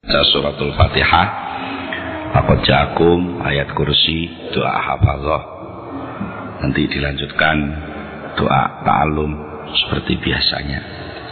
Suratul Fatihah, laqad ja'akum, ayat kursi, doa hafazah. Nanti dilanjutkan doa ta'alum seperti biasanya.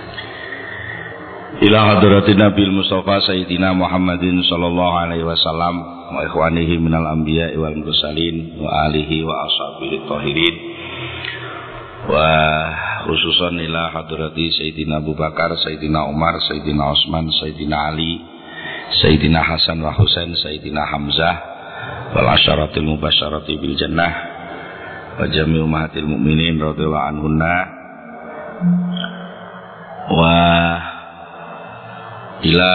Ila hadratin Nabil Mustafa Sayyidina Muhammadin sallallahu alaihi wasallam wa ikhwanihi minal anbiya'i wal mursalin wa alihi wa ashabihi tahirin, wa khususan ila hadrati Sayyidina Abu Bakar, Sayyidina Umar, Sayyidina Utsman, Sayyidina Ali, Sayyidina Hasan wa Husain, Sayyidina Hamzah wal asyaratil mubasyarati bil jannah wa jami' ummahatil mu'minin radhiyallahu anhunna wa ila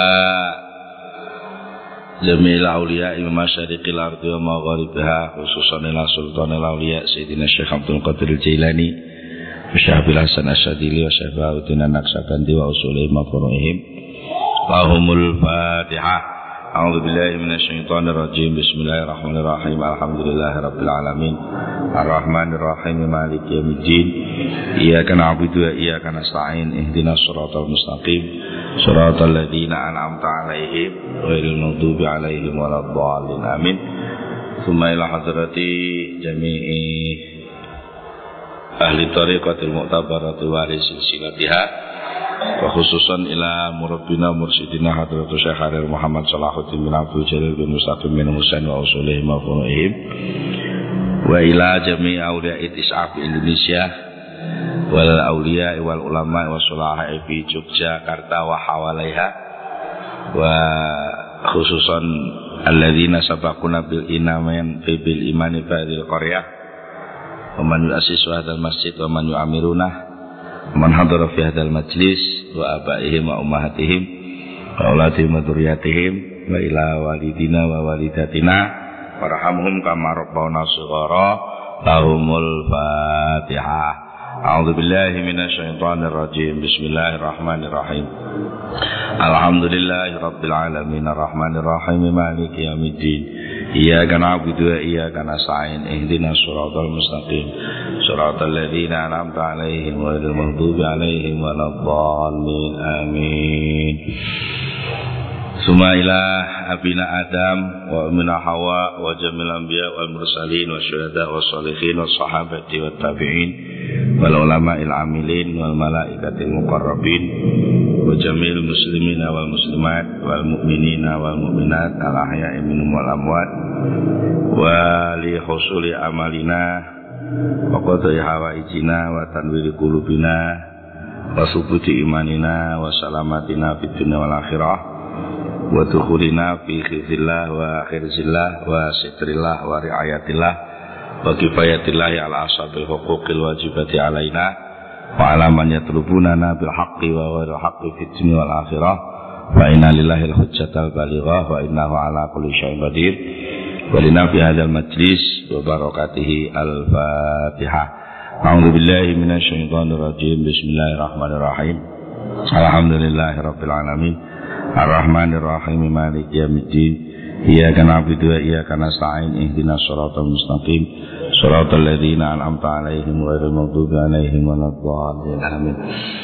jamil awliya imam masyariqil ardi wa magharibiha, khususan ila sultanil awliya Sayyidina Syekh Abdul Qadir Jailani wa Syekh Hasan Asyadili wa Syekh Bahuddin An-Naqsyabandi wa usulihim wa furu'ihim. Lahumul Fatihah. A'udzu billahi minasyaitonir rajim. Bismillahirrahmanirrahim. Alhamdulillahirabbil alamin. Arrahmanir rahim. Maliki yaumiddin. Iyyaka na'budu wa iyyaka nasta'in. Ihdinas siratal mustaqim. Siratal ladzina an'amta 'alaihim ghairil maghdubi 'alaihim waladdallin. Amin. Tsumma ila hadrati jami'i ahli tariqatil mu'tabarati wa silsilatiha, wa khususan ila murabbina mursyidina hadratus Syekh Harir Muhammad Salahuddin bin Abdul Jalil bin Mustaqim bin Husain wa usulihim wa furu'ihim, wa ila jami' awliya itis'af Indonesia wal awliya wal ulama wa sulaha fi Yogyakarta wa hawalaiha, wa khususan alladzina sabaquna bil iman bil imani fadil qaryah wa man yu'assisu hadzal masjid wa man yu'amiruna man hadara fi hadzal majlis wa abaihim wa ummahatihim wa auladihim wa dzurriyyatihim wa ila walidina wa walidatina warhamhum kama rabbawna shighara. Lahumul Fatihah. A'udzu billahi minasyaitonir rajim. Bismillahirrahmanirrahim. Alhamdulillahi rabbil alamin arrahmanir rahim maliki yaumiddin. Iyyaka na'budu wa iyyaka nasta'in. Ihdinas siratal mustaqim. Siratal ladzina an'amta 'alaihim ghairil maghdubi 'alaihim waladdallin. Amin. Summa ila abina Adam wa ummina Hawa wa jamil anbiya wal mursalin wa syuhada wa sholihin wa sahabati wa tabi'in wal ulama'il amilin wal malaikatil muqarrabin wa jamil muslimina wal muslimat wal mu'minina wal mu'minat al ahya'i minhum wal amwat wa li husuli amalina wa qadai hawaijina wa tanwiri qulubina wa subuti imanina wa salamatina fid dunya wal akhirah wa dukhulina fi khizillah wa khirzillah wa sitrillah wa riayatillah wa kifayatillahi ala ashabil huquqil wajibati alaina wa ala man yatlubunana bil haqqi wa ghairil haqqi fid dunya wal akhirah wa inna lillahi al hujjatal balighah wa innahu ala kulli syai'in qadir wa lina fi hadzal majlis wa barakatihi al Fatihah. A'udzu billahi minasyaitonir rajim. Bismillahirrahmanirrahim. Alhamdulillahirabbil alamin. Ar-Rahmanir Rahim Maliki Yaumiddin. Iyyaka na'budu wa iyyaka nasta'in. Ihdinas siratal mustaqim. Siratal ladzina an'amta 'alaihim ghairil maghdubi 'alaihim waladdallin. Amin.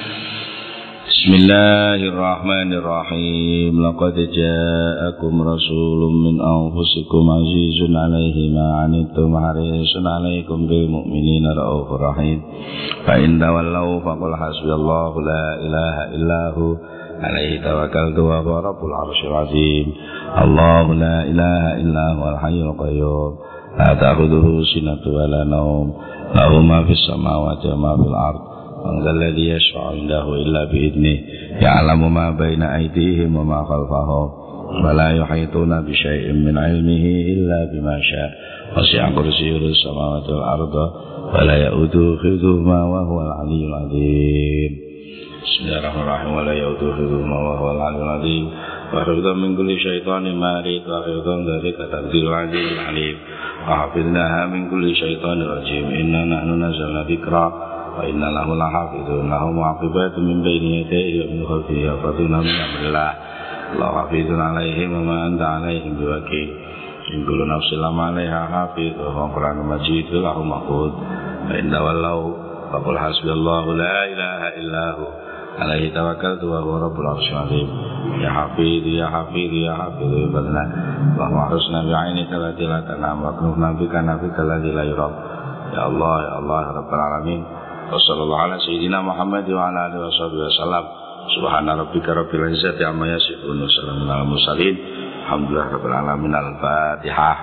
Bismillahirrahmanirrahim. Laqad ja'akum rasulun min anfusikum 'azizun 'alaihi ma 'anittum harisun 'alaikum bil mu'minina raufur rahim. Fa in tawallaw faqul hasbiyallahu la ilaha illahu alaihi tawakkaltu wa huwa rabbul arsyil azim. Allahu la ilaha illa huwal hayyul qayyum la ta'khudhuhu sinatun wa la nawm lahu ma fis samawati wa ma fil ard man dhal ladzi yashfa'u 'indahu illa bi idnihi ya'lamu ma baina aydihim wa ma khalfahum wa la yuhituna bi syai'in min 'ilmihi illa bima syaa' wasi'a kursiyyuhu samawati wal arda wa la ya'uduhu hifdhuhuma wa huwal 'aliyyul 'azim. Bismillahirrahmanirrahim. Wa la yauduhu hifdhuhuma wa huwal 'aliyyul 'azim. Wa hifdhan min kulli syaitanin marid wa hifdhan dzalika taqdirul 'azizil 'alim. Wa hafidnaha min kulli syaitanin rajim. Inna nahnu nazzalna dzikra wa inna lahu lahafidhun. Lahu mu'aqibatun min bayni yadayhi wa min khalfihi yahfazunahu min amrillah. Allahu hafizun 'alaihim wa ma anta 'alaihim biwakil. In kullu nafsin lamma 'alaiha hafidh wa huwa Qur'anun Majid lahu mahfuz. Fa in tawallaw faqul hasbiyallahu la ilaha illa hu alaihi tawakkaltu wa huwa rabbul arsyil azim. Ya Hafidh ya Hafidh ya Hafidh badna wa ma'rusna bi'ainika allati la tanam wa kunna bika nabika alladzi la yurab. Ya Allah ya Allah ya rabbal alamin. Wa sallallahu ala sayyidina Muhammad wa ala alihi washabihi wasallam. Subhana rabbika rabbil izzati amma yasifun wa salamun alal mursalin. Alhamdulillah rabbil alamin. Al-Fatihah.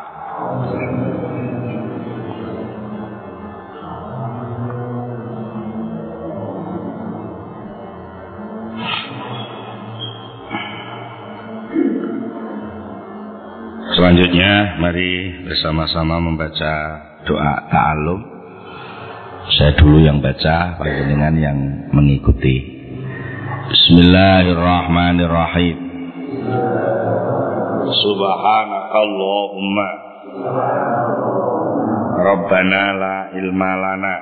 Selanjutnya mari bersama-sama membaca doa ta'alum. Saya dulu yang baca, panjenengan yang mengikuti. Bismillahirrahmanirrahim. Subhanakallahumma Rabbana la ilma lana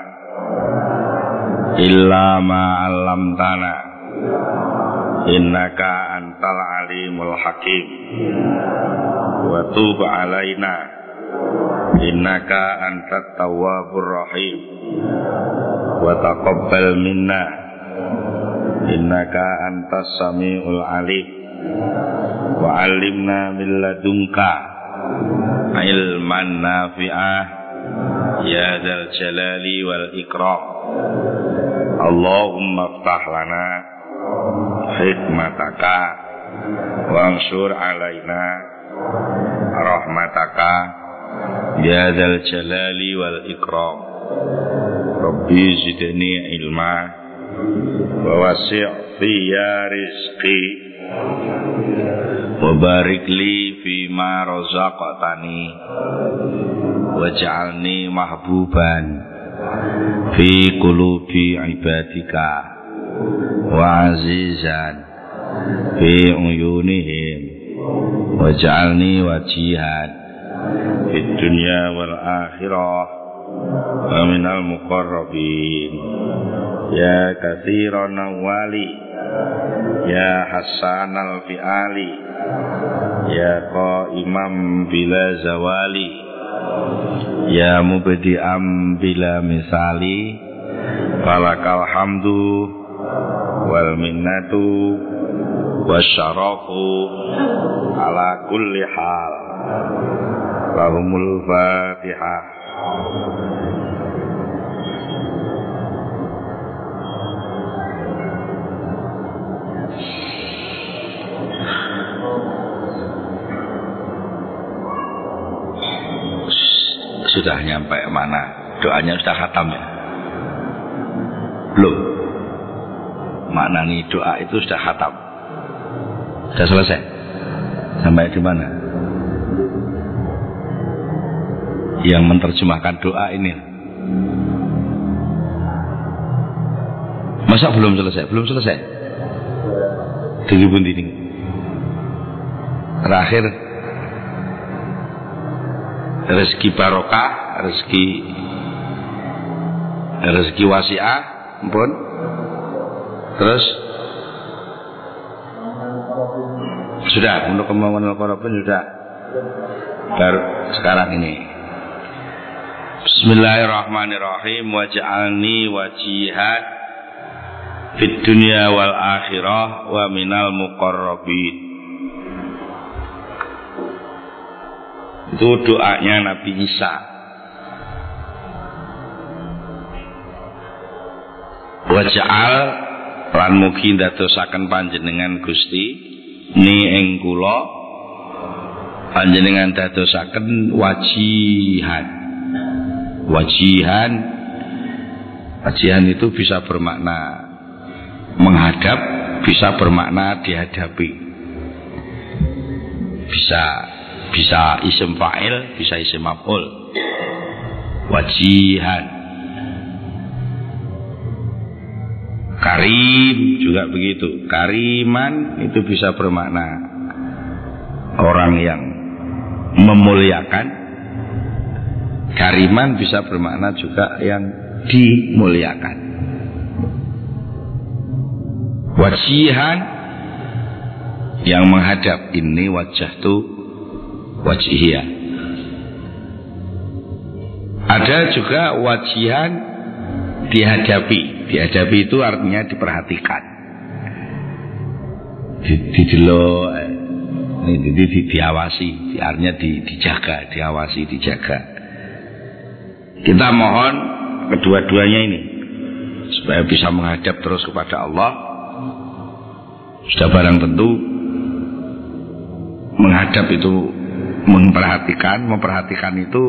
illa ma 'allamtana innaka antal alimul hakim. Wa tub alaina innaka antat tawwabur rahim. Wa taqabbal minna innaka antas samiul alim. Wa 'allimna min ladunka ilman nafi'ah ya dzal jalali wal ikram. Allahumma iftah lana hikmataka wa ansur alaina rahmataka ya dzal jalali wal ikram. Rabbi zidni ilma wa wasi' fiyya rizqi wa barik li fima razaqtani waj'alni mahbuban fi qulubi ibadika wa azizan fi uyunihim waj'alni wajihan fid dunya wal akhirah wa minal muqarrabin ya katsiran wali ya hasanal fi'ali ya qaimam bila zawali ya mubdi'am bila misali falakal hamdu wal minnatu wasyarafu ala kulli hal. Lahumul Fatihah. Sudah nyampe mana? Doanya sudah khatam ya? Belum. Maknani doa itu sudah khatam. Sudah selesai. Sampai di mana? Yang menerjemahkan doa ini. Masa belum selesai? Belum selesai. Diri ini. Terakhir rezeki barokah, rezeki wasi'ah, ampun. Terus sudah untuk kemauan Al-Qur'an sudah. Baru sekarang ini. Bismillahirrahmanirrahim. Waj'alni wajihan fid dunya wal akhirah wa minal muqarrabin. Itu doanya Nabi Isa. Waj'al lan mugi ndadosaken panjenengan Gusti ni ing kula panjenengan dadosaken wajihan. Wajihan itu bisa bermakna menghadap, bisa bermakna dihadapi. Bisa isim fa'il, bisa isim maf'ul. Wajihan. Karim juga begitu. Kariman itu bisa bermakna orang yang memuliakan. Kariman bisa bermakna juga yang dimuliakan. Wajihan yang menghadap, ini wajahtu wajihiyah. Ada juga wajihan dihadapi. Dihadapi itu artinya diperhatikan. didelok, diawasi, artinya dijaga, diawasi, dijaga. Kita mohon kedua-duanya ini supaya bisa menghadap terus kepada Allah. Sudah barang tentu menghadap itu memperhatikan itu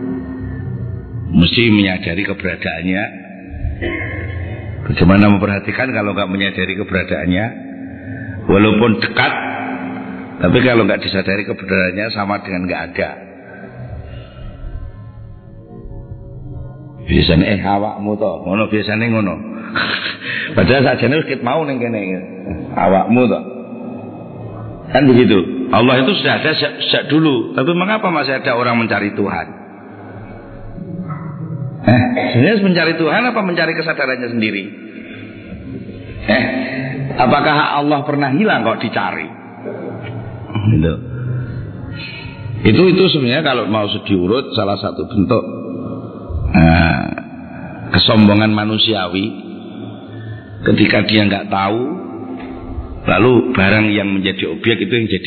mesti menyadari keberadaannya. Bagaimana memperhatikan kalau nggak menyadari keberadaannya? Walaupun dekat, tapi kalau nggak disadari keberadaannya sama dengan nggak ada. Biasanya awakmu toh, ngono biasanya ngono. Padahal sajane wis mau ning kene awakmu toh. Kan begitu. Allah itu sudah ada sejak dulu, tapi mengapa masih ada orang mencari Tuhan? Sebenarnya mencari Tuhan apa mencari kesadarannya sendiri? Apakah Allah pernah hilang kok dicari? Gitu. Itu sebenarnya kalau mau diurut salah satu bentuk kesombongan manusiawi ketika dia nggak tahu, lalu barang yang menjadi objek itu yang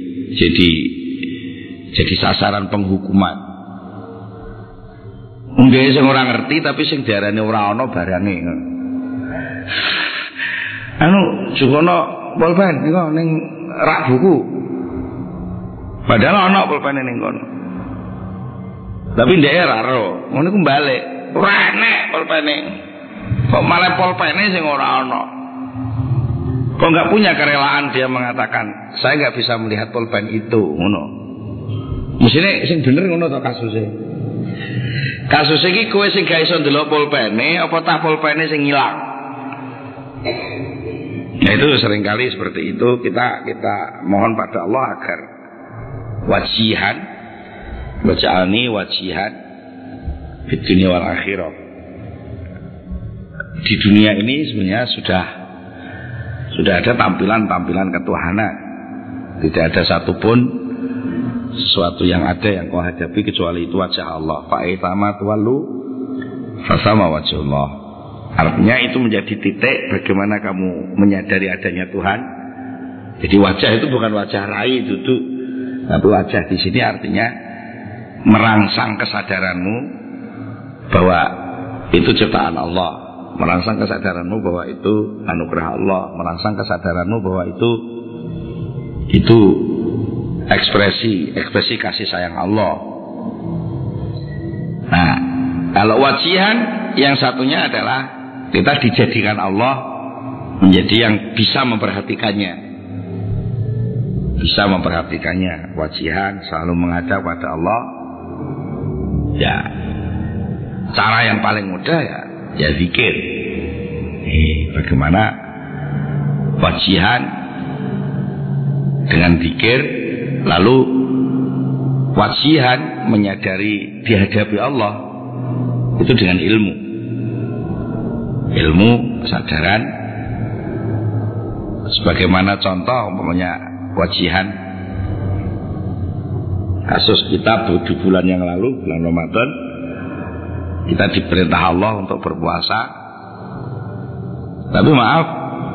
jadi sasaran penghukuman. Mungkin sing ora ngerti tapi sing diarani ora ana barange. Jukono pulpen niku ning rak buku. Padahal ana pulpene ning kono. Tapi ndek ora ro, ngono ku balik. Ora enek pulpene. Kok malah pulpene sing ora ana. Kok enggak punya kerelaan dia mengatakan, saya enggak bisa melihat pulpen itu, ngono. Mesine sing bener ngono to kasuse. Kasus iki kowe sing gak iso ndelok pulpene apa tak pulpene sing ilang. Nah itu seringkali seperti itu kita mohon pada Allah agar wajihan waj'alni wajihan di dunia wal akhirah. Di dunia ini sebenarnya sudah ada tampilan-tampilan ketuhanan. Tidak ada satupun sesuatu yang ada yang kau hadapi kecuali itu wajah Allah. Fa'itama tuwallu fasama wajhullah. Artinya itu menjadi titik bagaimana kamu menyadari adanya Tuhan. Jadi wajah itu bukan wajah rai duduk, tapi wajah di sini artinya merangsang kesadaranmu bahwa itu ciptaan Allah, merangsang kesadaranmu bahwa itu anugerah Allah, merangsang kesadaranmu bahwa itu ekspresi kasih sayang Allah. Nah, kalau wajihan yang satunya adalah kita dijadikan Allah menjadi yang bisa memperhatikannya. Bisa memperhatikannya. Wajihan selalu menghadap pada Allah. Ya, cara yang paling mudah ya zikir. Bagaimana wajihan dengan zikir, lalu wajihan menyadari dihadapi Allah itu dengan ilmu kesadaran. Sebagaimana contoh umpamanya wajihan kasus kita di bulan yang lalu, bulan Ramadan, kita diperintah Allah untuk berpuasa. Tapi maaf,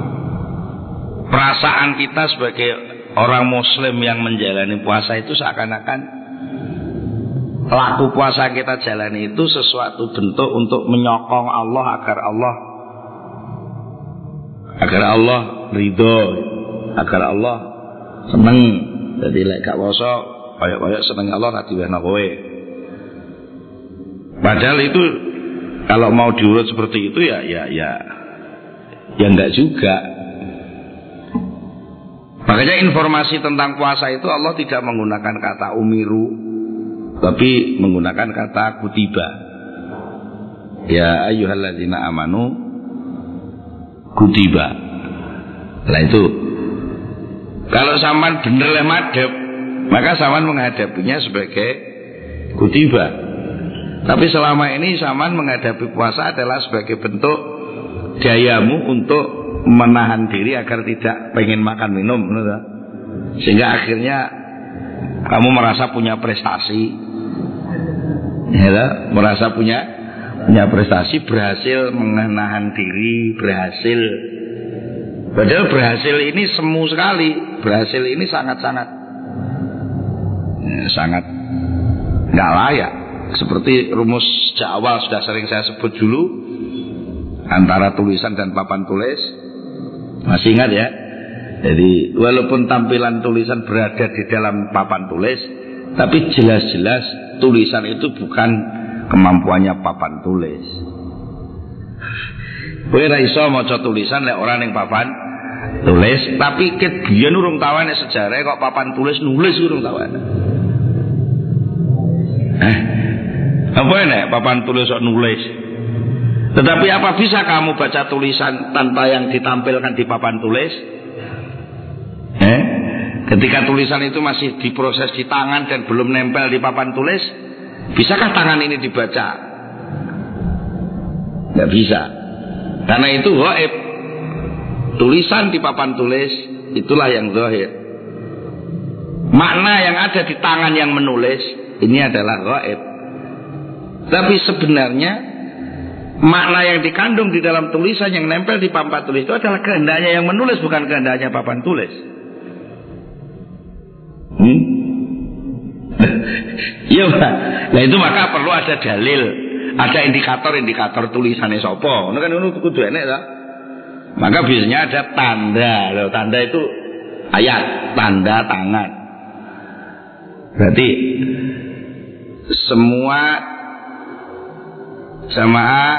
perasaan kita sebagai orang muslim yang menjalani puasa itu seakan-akan laku puasa kita jalani itu sesuatu bentuk untuk menyokong Allah agar Allah ridho, agar Allah seneng. Jadi lek gak puasa koyok-koyok seneng Allah ra diwehno kowe. Padahal itu kalau mau diurut seperti itu ya enggak juga. Makanya informasi tentang puasa itu Allah tidak menggunakan kata umiru, tapi menggunakan kata kutiba. Ya ayyuhalladzina amanu kutiba. Lah itu kalau sampean bener le madhep, maka sampean menghadapinya sebagai kutiba. Tapi selama ini sampean menghadapi puasa adalah sebagai bentuk dayamu untuk menahan diri agar tidak pengen makan minum, sehingga akhirnya kamu merasa punya prestasi, ya, merasa punya prestasi, berhasil menahan diri, berhasil Padahal berhasil ini semu sekali. Berhasil ini sangat-sangat sangat nggak layak. Seperti rumus sejak awal sudah sering saya sebut dulu, antara tulisan dan papan tulis. Masih ingat ya? Jadi walaupun tampilan tulisan berada di dalam papan tulis, tapi jelas-jelas tulisan itu bukan kemampuannya papan tulis. Kowe ora iso maca tulisan lek ora ning papan tulis, tapi ket biyen urung tawane sejarah kok papan tulis nulis urung tawane. Apa enak papan tulis kok nulis? Tetapi apa bisa kamu baca tulisan tanpa yang ditampilkan di papan tulis? Ketika tulisan itu masih diproses di tangan dan belum nempel di papan tulis, bisakah tangan ini dibaca? Nggak bisa. Karena itu gaib. Tulisan di papan tulis itulah yang zahir. Makna yang ada di tangan yang menulis ini adalah gaib. Tapi sebenarnya makna yang dikandung di dalam tulisan yang nempel di papan tulis itu adalah kehendaknya yang menulis, bukan kehendaknya papan tulis. Iya, nah itu maka perlu ada dalil, ada indikator tulisannya sopo. Itu kan kudu enek lah. Maka biasanya ada tanda. Loh, tanda itu ayat, tanda tangan. Berarti semua jamaah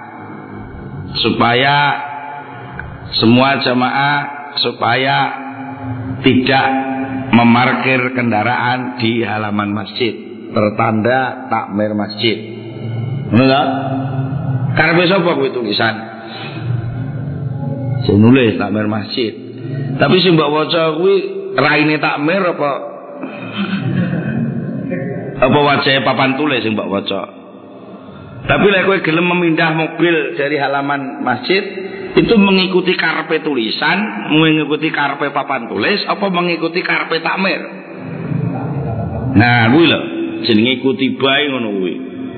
supaya tidak memarkir kendaraan di halaman masjid, tertanda takmir masjid. Benar? Karepe sapa kuwi tulisan? Sing nulis takmir masjid. Tapi sing mbok waca kuwi raine takmir apa wajahe papan tulis sing mbok waca. Tapi lek kowe gelem memindah mobil dari halaman masjid, itu mengikuti karepe tulisan, mengikuti karepe papan tulis, apa mengikuti karepe takmir? Nah, kuwi lho, jenenge ikuti bae ngono kuwi.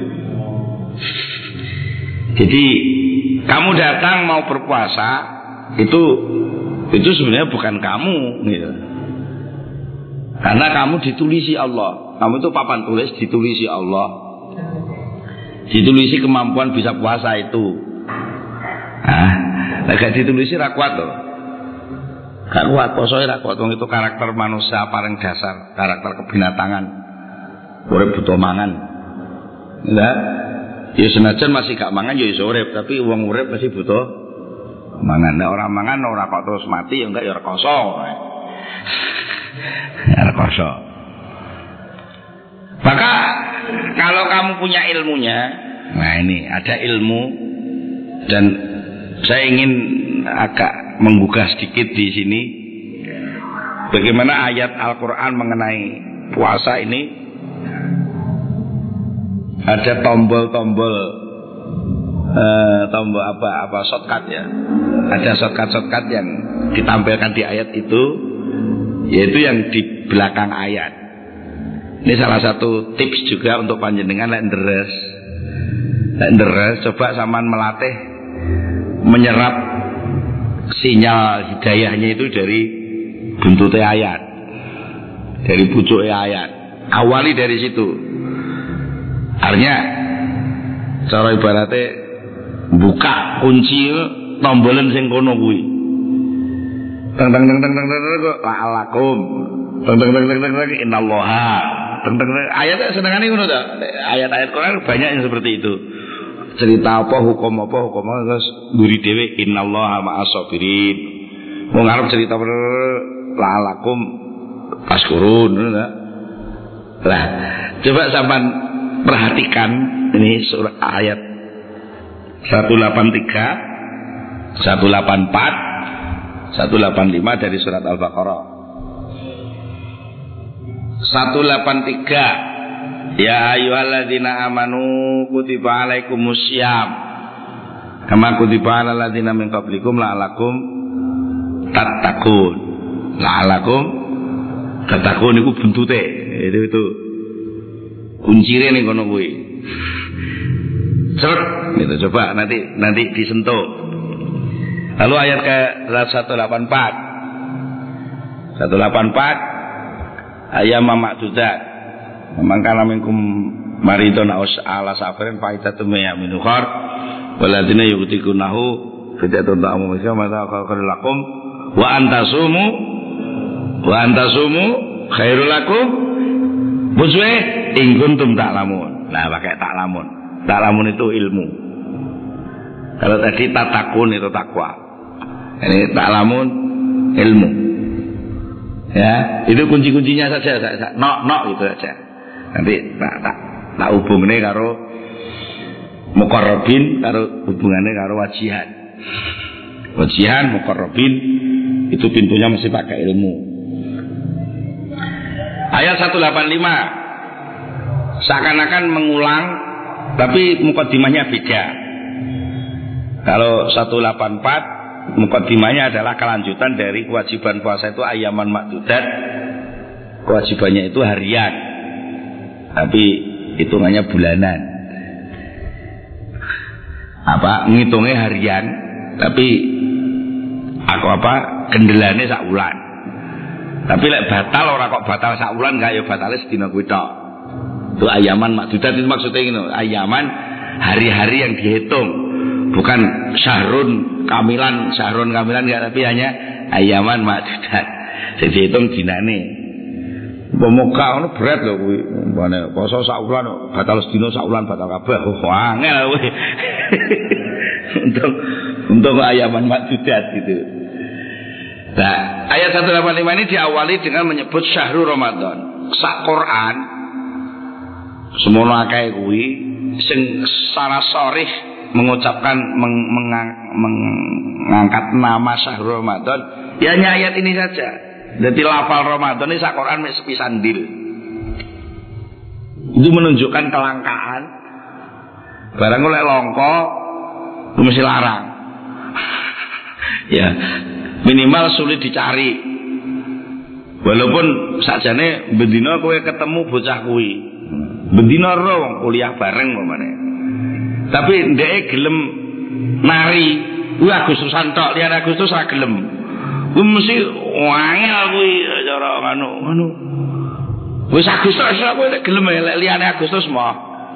Jadi kamu datang mau berpuasa, itu sebenarnya bukan kamu, gitu. Karena kamu ditulisi Allah. Kamu itu papan tulis ditulisi Allah. Ditulisi kemampuan bisa puasa itu. Gak ditulisi ra kuat loh. Gak kuat, posoe ra kuat. Wong itu karakter manusia paling dasar, karakter kebinatangan. Urip butuh mangan. Enggak? Ya senajan masih gak mangan ya iso urip, tapi wong urip masih butuh mangan. Nek ora mangan ora kok terus mati ya enggak ya rekoso. Rekoso. Maka kalau kamu punya ilmunya, nah ini ada ilmu, dan saya ingin agak menggugah sedikit di sini bagaimana ayat Al-Quran mengenai puasa ini. Ada tombol shortcut ya. Ada shortcut yang ditampilkan di ayat itu, yaitu yang di belakang ayat. Ini salah satu tips juga untuk panjenengan lek nderes coba sampean melatih menyerap sinyal hidayahnya itu dari buntutnya ayat, dari pucuknya ayat. Awali dari situ. Artinya cara ibaratnya buka kunci tombolan sing kono kuwi. Teng teng teng teng teng kok la'alakum. Teng teng teng teng teng innallaha. Teng teng ayat senengane ngono ta. Ayat-ayat Quran banyak yang seperti itu. Cerita apa hukum terus guri dhewe innallaha ma'as sabirin. Wong arep cerita la'alakum paskurun ngono ta. Lah, coba sampean perhatikan ini surah ayat 183, 184, 185 dari surat Al-Baqarah. 183, ya ayyuhalladzina amanu kutiba alaikumussyam kama kutiba alal ladzina min qablikum la'alakum tattaqun. La'alakum tattaqun iku buntute. Itu kuncire ning kono kuwi. Seret gitu, coba nanti disentuh. Lalu ayat ke 184 ayat ma'dudat. Mangkana minkum maridun aw ala safarin faidatun min ukhar waladina yu'tikunahu fidatun ta'amu misal mata khairul lakum wa antasumu khairul lakum buswe in kuntum ta'lamun. Nah, pakai ta'lamun. Ta'lamun itu ilmu. Kalau tadi tatakun itu takwa. Ini ta'lamun ilmu. Ya, itu kunci-kuncinya saja. Nok gitu saja. Nanti tak hubungane karo muqarrabin, karo hubungannya karo wajihan. Wajihan, muqarrabin itu pintunya mesti pakai ilmu. Ayat 185 seakan-akan mengulang tapi mukaddimahnya beda. Kalau 184 mukaddimahnya adalah kelanjutan dari kewajiban puasa itu ayaman ma'dudat. Kewajibannya itu harian. Tapi hitungannya bulanan. Ngitungnya harian, tapi kendelane sak wulan. Tapi lek batal ora kok batal sak wulan enggak ya batale sedina kuwi tok. Itu ayaman ma'dudat itu maksudnya gitu. Ayaman hari-hari yang dihitung, bukan syahrun kamilan enggak, tapi hanya ayaman ma'dudat. Sing dihitung dinane. Pemuka ngono berat lho kuwi. Umpane poso sak wulan batal sedina sak wulan batal kabeh. Wah, angel kuwi. Untuk ayaman ma'dudat gitu. Nah, ayat 185 ini diawali dengan menyebut syahrul Ramadan. Sak Quran semono akeh kuwi sing secara sharih mengucapkan mengangkat nama syahrul Ramadan ya hanya ayat ini saja. Jadi lafal Ramadan ini sak Quran mek sepisan dil. Itu menunjukkan kelangkaan. Barang oleh longko itu mesti larang. Ya, minimal sulit dicari. Walaupun sakjane bendina kowe ketemu bocah kuwi. Bendina ro wong kuliah bareng pamane. Tapi ndeke gelem nari, kuwi Agustusan tok, liyan Agustus ra gelem. Kuwi mesti wangel kuwi cara ngono. Wis Agustus kowe nek gelem lek liyane Agustus mah.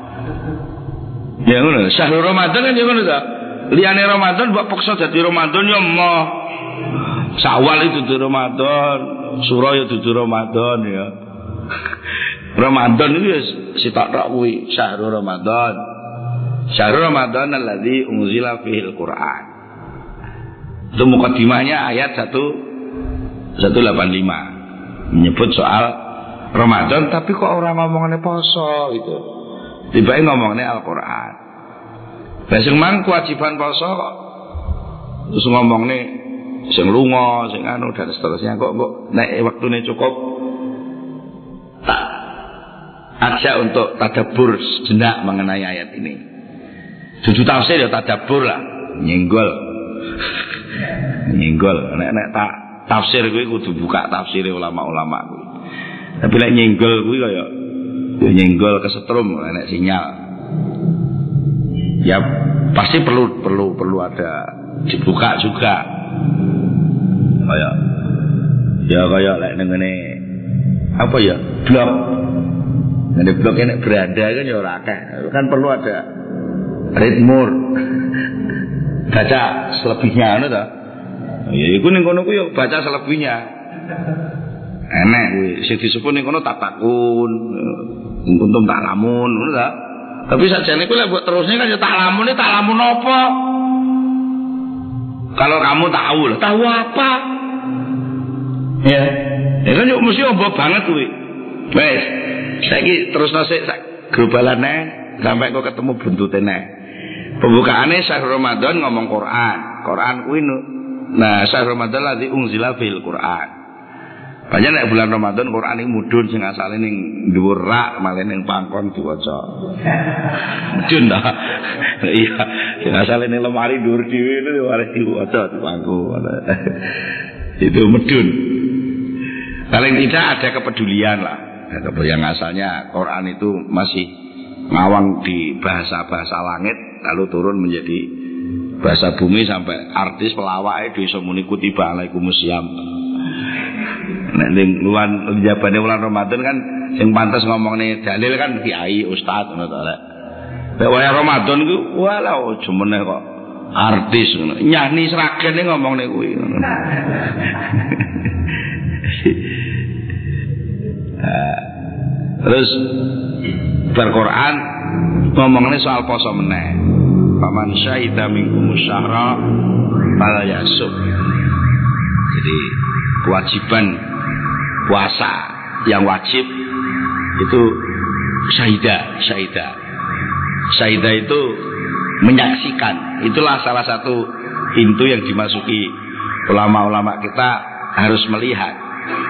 Ya ngono, syahrul Ramadan kan ya ngono ta. Liyane Ramadan mbok paksa dadi Ramadan ya mah. Syawal itu dudu Ramadan, Suro ya dudu Ramadan ya. Ramadan itu ya sitok tok kuwi, syahrul Ramadan. Syahrul Ramadan alladzi unzila fihil Qur'an. Itu mukaddimahnya ayat 185 menyebut soal Ramadan, tapi kok orang ngomongnya poso gitu. Tiba-tiba ngomongnya Al-Quran. Sing mang kewajiban poso terus ngomongnya sing lunga, sing anu dan seterusnya kok nek waktune cukup tak ajak untuk tadabbur sejenak mengenai ayat ini. Dudu tafsir ya tadabbur lah, nyenggol. Nek tak tafsir kuwi kudu buka tafsir ulama-ulama kuwi. Tapi nek nyenggol kuwi kaya nyenggol kesetrum nek sinyal. Ya pasti perlu ada dibuka juga. Kayak lek ngene apa ya? Blog. Ngene blog nek beranda kan ya ora akeh. Kan perlu ada ritme. Baca selebihnya ngono ta. Ya iku ning kono ku ya baca selebihnya. Enek kuwi sing disebut ning kono tatakun, kuntum tak lamun ngono ta. Tapi sakjane ku lek mbok terusne kan ya tak lamun apa? Kalau kamu tahu apa? Ya kan yo mesti ombo banget kuwi. Wes, saiki terusno sik sak globalane sampai kok ketemu buntute nek. Pembukaannya syahrul Ramadan ngomong Quran kuwi nah syahrul Ramadan ladzi unzila fil Quran. Banyak nek bulan Ramadan Quran iki mudhun sing asale ning dhuwur rak malah ning pangkon diwaca. Mudhun ta. Iya, sing asale ning lemari dhuwur dhewe itu arep diwaca di pangkon. Itu mudhun. Paling tidak ada kepedulian lah. Yang asalnya Quran itu masih ngawang di bahasa-bahasa langit lalu turun menjadi bahasa bumi sampai artis pelawak itu iso muni kutiba alaikumusiyam. Nek ning luan jabane bulan Ramadan kan sing pantes ngomongne dalil kan kiai ustaz ngono to lek. Nek waya Ramadan ku walau jemene kok artis ngono. Nyanyi sragen ngomongne kuwi ngono. Terus Al-Quran ngomongnya soal poso meneh. Faman syahida minkum syahra fala yasum. Jadi kewajiban puasa yang wajib itu syahida itu menyaksikan. Itulah salah satu pintu yang dimasuki ulama-ulama kita harus melihat.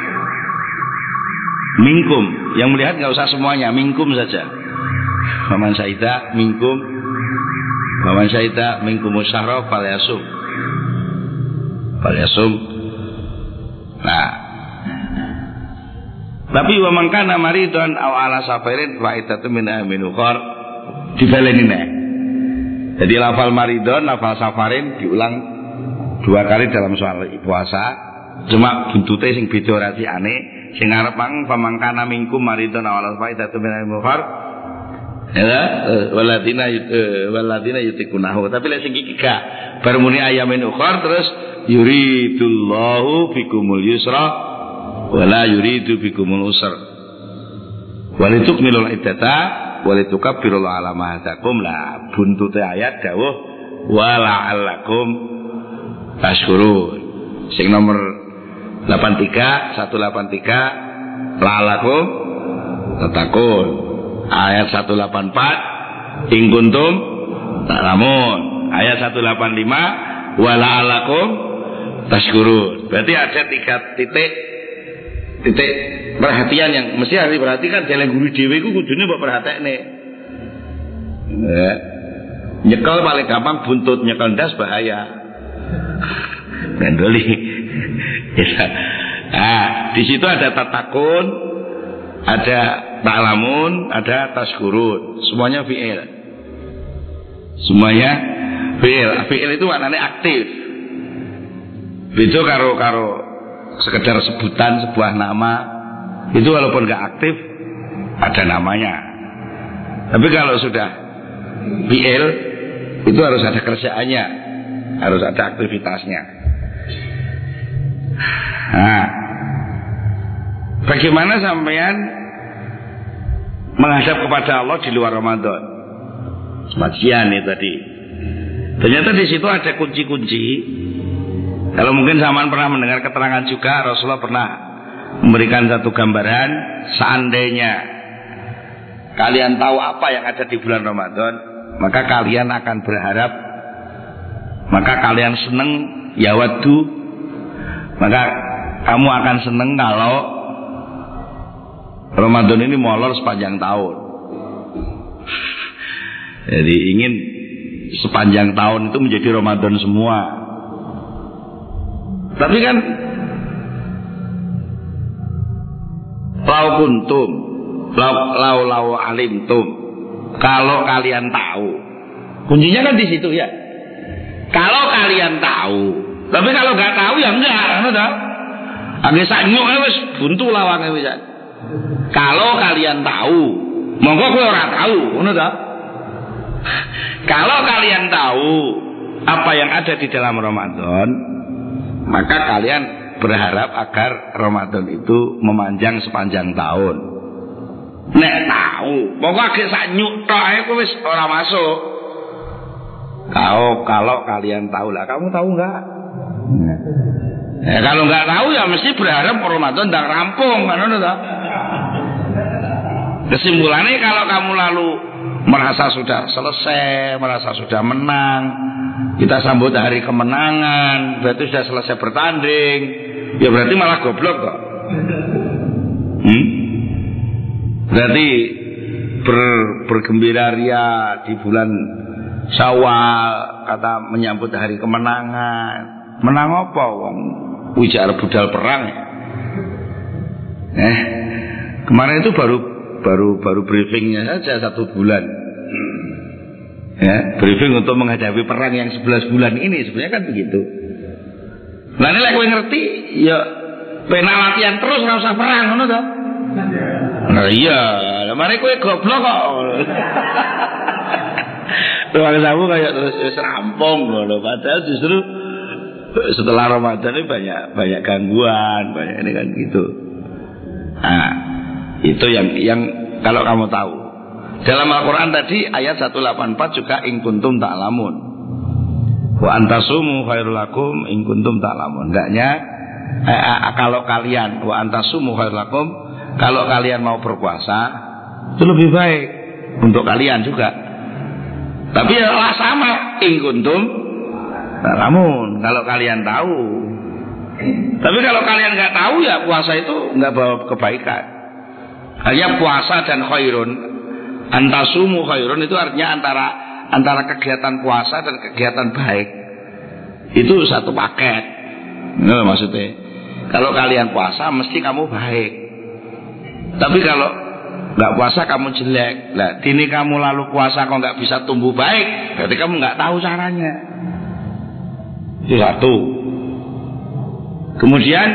Minkum, yang melihat nggak usah semuanya, minkum saja. Faman syahida minkum, faman syahida minkum syahra falyasum. Nah, tapi wa man kana maridun aw ala safarin fa iddatu min ayyamin ukhra dibaleni nek. Jadi lafal maridun, lafal safarin diulang 2 kali dalam soal puasa. Cuma buntute sing beda rasane. Sing arep pamangkana mingkum maridun awal faidatu minal mukhar ya waladina yutikunahu. Tapi lek sing iki gak bar muni ayamin ukhar terus yuridullahu bikumul yusra wala yuridu bikumul usra walitukmilul iddata walitukabbiru ala ma hadakum. Lah buntute ayat dawuh wala'allakum tashkurun. Sing nomor 183 la'allakum tattaqun. Ayat 184 in kuntum ta'lamun. Ayat 185 wa la'allakum tashkurun. Berarti ada 3 titik perhatian yang mesti harus diperhatikan. Jalan guru dhewe iku kudune mbok perhatekne. Nyekel paling gampang buntut, nyekel ndas bahaya. Gandoli. Nah, di situ ada tatakun, ada ta'lamun, ada tashkurun. Semuanya fi'il. Semuanya fi'il. Fi'il itu maknanya aktif. Beda karo sekedar sebutan sebuah nama. Itu walaupun gak aktif ada namanya. Tapi kalau sudah fi'il itu harus ada kerjaannya, harus ada aktivitasnya. Nah, bagaimana sampean menghadap kepada Allah di luar Ramadan? Majian itu tadi. Ternyata di situ ada kunci-kunci. Kalau mungkin sampean pernah mendengar keterangan juga, Rasulullah pernah memberikan satu gambaran. Seandainya kalian tahu apa yang ada di bulan Ramadan, maka kalian akan berharap, maka kalian seneng yawaddu, maka kamu akan seneng kalau Ramadan ini molor sepanjang tahun. Jadi ingin sepanjang tahun itu menjadi Ramadan semua. Tapi kan lau kuntum lau alimtum, kalau kalian tahu, kuncinya kan di situ ya. Kalau kalian tahu, tapi kalau nggak tahu ya enggak, udah. Agak sanyuk wis buntu lawange wis. Kalau kalian tahu, monggo kowe ora tahu, ngono ta? Kalau kalian tahu apa yang ada di dalam Ramadan, maka kalian berharap agar Ramadan itu memanjang sepanjang tahun. Nek tahu, monggo agak sanyuk tok ae kowe wis ora masuk. Kalau kalian tahu lah, kamu tahu enggak? Kalau nggak tahu ya mesti berharap Ramadan tak rampung kan, udah. Kesimpulannya kalau kamu lalu merasa sudah selesai, merasa sudah menang, kita sambut hari kemenangan, berarti sudah selesai bertanding, ya berarti malah goblok kok. Berarti bergembira ria di bulan Syawal, kata menyambut hari kemenangan. Menang apa wong? Wijar budal perang ya. Kemarin itu baru briefingnya saja 1 bulan. Ya, briefing untuk menghadapi perang yang 11 bulan ini sebenarnya kan begitu. Nah ini lek kowe ngerti ya penak latihan terus ora usah perang ngono to. Nah iya, mari kowe goblok kok. Ruang samu kayak terus rampung loh. Padahal justru setelah Ramadan ini banyak gangguan, banyak ini kan gitu. Nah, itu yang kalau kamu tahu. Dalam Al-Quran tadi ayat 184 juga in kuntum ta'lamun. Wa antasumu khairul lakum in kuntum ta'lamun. Hendaknya kalau kalian wa antasumu khairul lakum, kalau kalian mau berpuasa itu lebih baik untuk kalian juga. Tapi ya sama in kuntum ta'lamun, kalau kalian tahu. Tapi kalau kalian nggak tahu ya puasa itu nggak bawa kebaikan. Hanya puasa dan khairun, antasumu khairun itu artinya antara kegiatan puasa dan kegiatan baik itu satu paket. Nah, maksudnya kalau kalian puasa mesti kamu baik. Tapi kalau nggak puasa kamu jelek. Nah, dini kamu lalu puasa kok nggak bisa tumbuh baik, berarti kamu nggak tahu caranya. Itu satu. Kemudian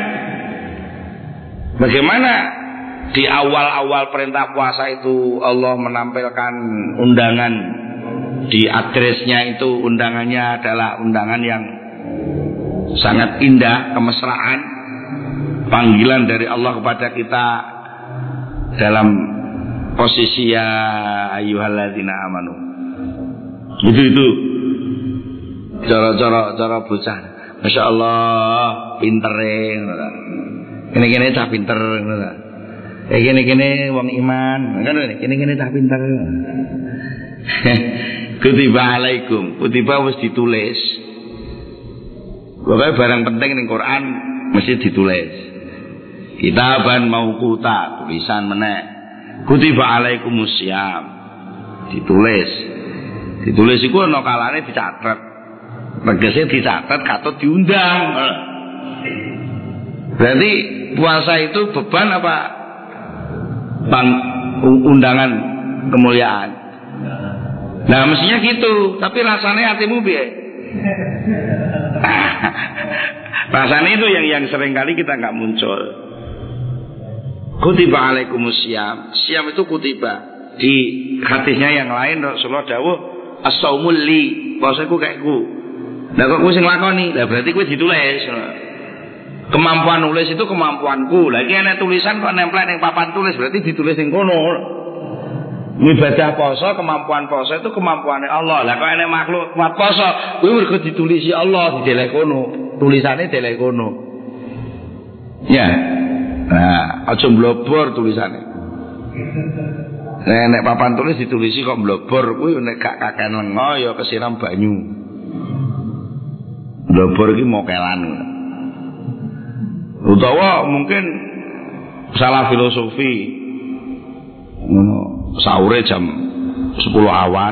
bagaimana di awal-awal perintah puasa itu Allah menampilkan undangan, di addresnya itu undangannya adalah undangan yang sangat indah, kemesraan, panggilan dari Allah kepada kita dalam posisi ya ayyuhalladzina amanu. Itu cara bocah. Masya Allah pintere, ini cah pinter. Gini wong iman, kan gini tak pintar. Kutiba alaikum, kutiba wis ditulis. Pokoknya barang penting ning Quran mesti ditulis. Kitaban mauquta, tulisan meneh. Kutiba alaikumusiyam, ditulis. Ditulis iku ana kalane dicatet. Tegese dicatet katut diundang. Berarti puasa itu beban apa? Undangan kemuliaan. Nah mestinya gitu. Tapi rasanya hatimu piye? Rasanya itu yang sering kali kita nggak muncul. Kutiba alaikumusiyam. Siam itu kutiba. Di hadisnya yang lain Rasulullah dawuh as-saumul li, puasaku kayak ku. Lah kok kowe sing lakoni? Lah berarti kowe ditulis. Kemampuan nulis itu kemampuanku. Lagi enak tulisan kok nempel ning papan tulis, berarti ditulis ning kono. Ibadah poso, kemampuan poso itu kemampuannya Allah. Lah kok enak makhluk kuat poso, kuwi mergo ditulisi Allah, didelek kono. Tulisane delek kono. Ya. Nah, aja mblobor tulisane. Nek papan tulis ditulisi kok mblobor, kuwi nek gak kakean lengo ya kesiram banyu. Mblobor iki mokelan. Utawa mungkin salah filosofi, sahure jam 10 awan,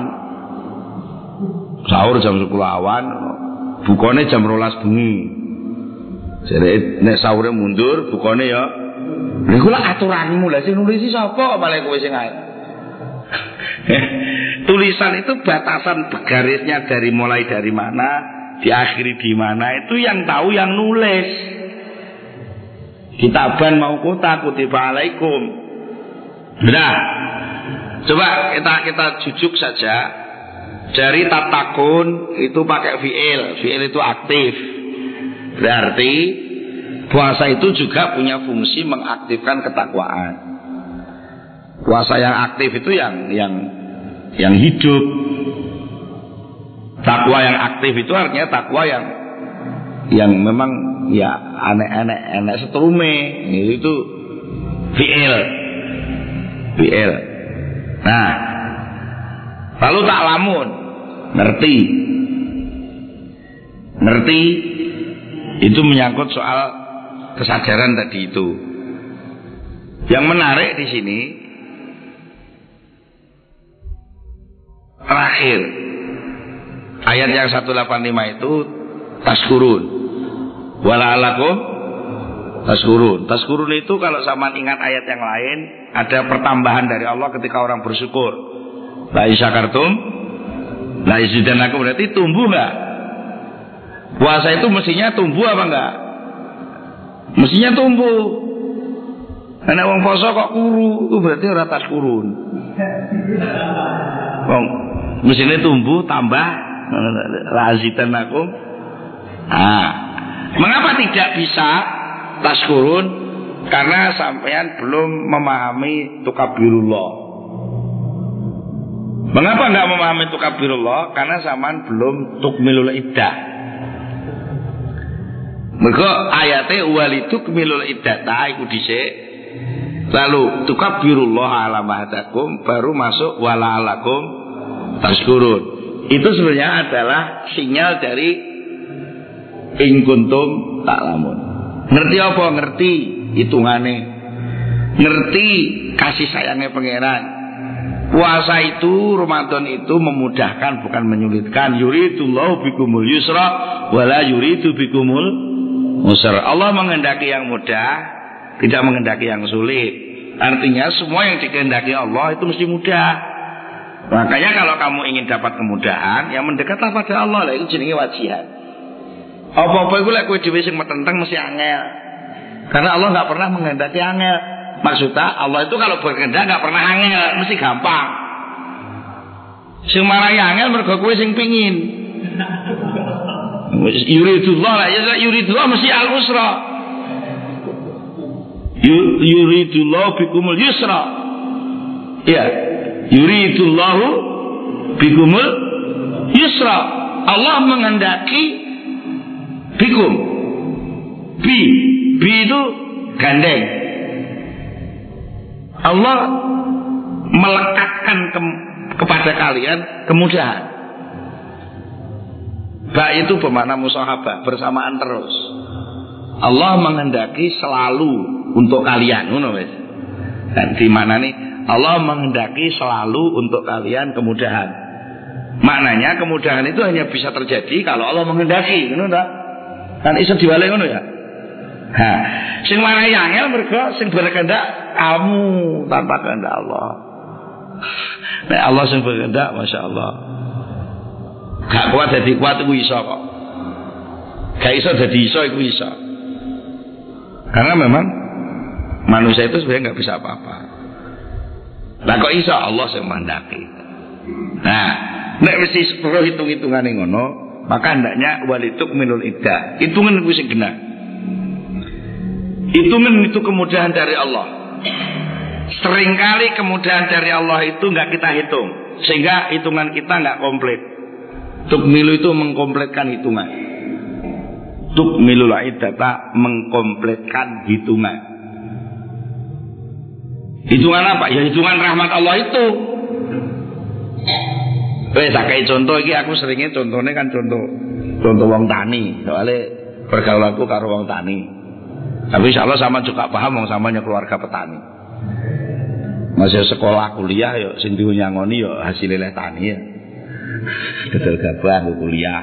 sahur jam 10 awan, bukane jam 12 bengi. Jadi nek sahure mundur, bukane ya. Lha iku lak aturanmu, lah sing nulis sapa malah kowe sing ae. Tulisan itu batasan garisnya dari mulai dari mana, diakhiri di mana itu yang tahu yang nulis. Kitaban mauquta kutiba alaikum. Nah, coba kita jujuk saja. Dari tatakun itu pakai fi'il. Fi'il itu aktif. Berarti puasa itu juga punya fungsi mengaktifkan ketakwaan. Puasa yang aktif itu yang hidup. Takwa yang aktif itu artinya takwa yang memang ya enek setrume itu fi'il. Nah, lalu ta'lamun, ngerti itu menyangkut soal kesadaran tadi itu. Yang menarik di sini terakhir ayat yang 185 itu taskurun. Wala'alakum taskurun. Taskurun itu kalau sama ingat ayat yang lain, ada pertambahan dari Allah ketika orang bersyukur. La in syakartum La yazidannakum berarti tumbuh enggak? Puasa itu mestinya tumbuh apa enggak? Mestinya tumbuh. Karena wong poso kok kuru, itu berarti ora tas kurun. Wong mestinya tumbuh tambah la yazidannakum. Mengapa tidak bisa tas kurun? Karena sampean belum memahami tukabirullah. Mengapa enggak memahami tukabirullah? Karena sampean belum tukmilul iddah. Mergo ayate walitukmilul iddata iku dhisik. Lalu tukabirullah ala mahdakum baru masuk wala alakum taskurun. Itu sebenarnya adalah sinyal dari in kuntum ta'lamun. Ngerti apa? Ngerti hitungane. Ngerti kasih sayangnya pangeran. Puasa itu, Ramadan itu memudahkan bukan menyulitkan. Yuridullahu bikumul yusra wala yuridu bikumul usra. Allah menghendaki yang mudah, tidak menghendaki yang sulit. Artinya semua yang dikehendaki Allah itu mesti mudah. Makanya kalau kamu ingin dapat kemudahan, yang mendekatlah pada Allah lah, itu jenenge wajihan. Apa-apa itu lek kowe dhewe sing metenteng mesti angel. Karena Allah enggak pernah menghendaki angel. Maksudnya Allah itu kalau berkehendak enggak pernah angel, mesti gampang. Sing marahi angel mergo kowe sing pengin. Yuridullah lah, ya yuridullah mesti al-usra. Yuridullah bikumul yusra. Ya, yuridullahu bikumul yusra. Allah menghendaki bikum. Bi itu gandeng. Allah melekatkan kepada kalian kemudahan. Ba itu bermakna musahabah, bersamaan terus. Allah menghendaki selalu untuk kalian, ngono wis. Dan di mana nih? Allah menghendaki selalu untuk kalian kemudahan. Maknanya kemudahan itu hanya bisa terjadi kalau Allah menghendaki, ngono ta? Kan iso diwale ngono ya. Sing marahi angel mergo sing berkehendak kamu tanpa kehendak Allah. Nek Allah sing berkehendak, masyaallah. Gak kuat dadi kuat iku iso kok. Gak iso dadi iso iku iso. Karena memang manusia itu sebenarnya nggak bisa apa-apa. Lah kok iso Allah sing mandaki. Nah, nek mesti perlu hitung-hitungane ngono, maka hendaknya walituk minul iddah. Hitungan kuwi sing genah. Hitungan itu kemudahan dari Allah. Seringkali kemudahan dari Allah itu nggak kita hitung, sehingga hitungan kita nggak komplit. Tukmilu itu mengkompletkan hitungan. Tukmilul iddata mengkompletkan hitungan. Hitungan apa? Ya hitungan rahmat Allah itu. Tak kayak contoh iki aku seringnya contohnya kan contoh wong tani. Soalnya pergaulanku karo wong tani. Tapi insya Allah sama juga paham wong samanya keluarga petani. Masih sekolah kuliah yo sing diunyangoni yo hasilnya tani ya. Gedel gabah kuliah.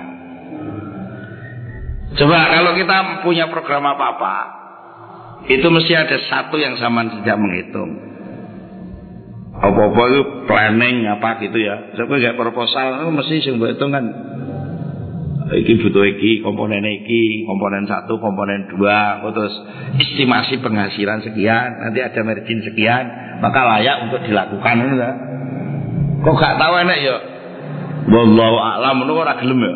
Coba kalau kita punya program apa-apa, itu mesti ada satu yang sama tidak menghitung. Apa-apa itu planning apa gitu ya. Coba kayak proposal mesti sing mbok hitung kan. Iki butuh iki, komponen 1, komponen 2, terus estimasi penghasilan sekian, nanti ada margin sekian, maka layak untuk dilakukan itu kan. Kok gak tahu enak ya? Wallahu a'lam ngono ora gelem ya.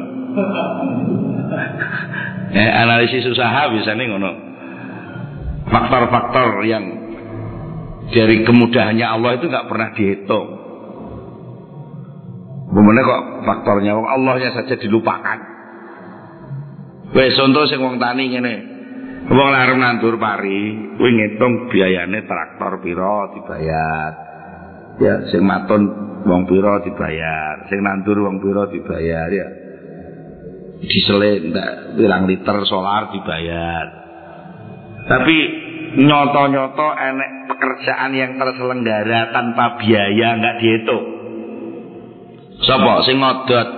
Analisis usaha biasanya ngono. Faktor-faktor yang dari kemudahannya Allah itu nggak pernah dihitung. Bagaimana kok faktornya Allahnya saja dilupakan. Wes contoh sing wong tani ngene. Wong larem nandur pari, kuwi ngitung biayane traktor pira dibayar. Ya sing maton wong pira dibayar, sing nandur wong pira dibayar ya. Diesel ndak pirang liter solar dibayar. Tapi nyoto-nyoto enek pekerjaan yang terselenggara tanpa biaya nggak dihitung. Sapa sing ngodot?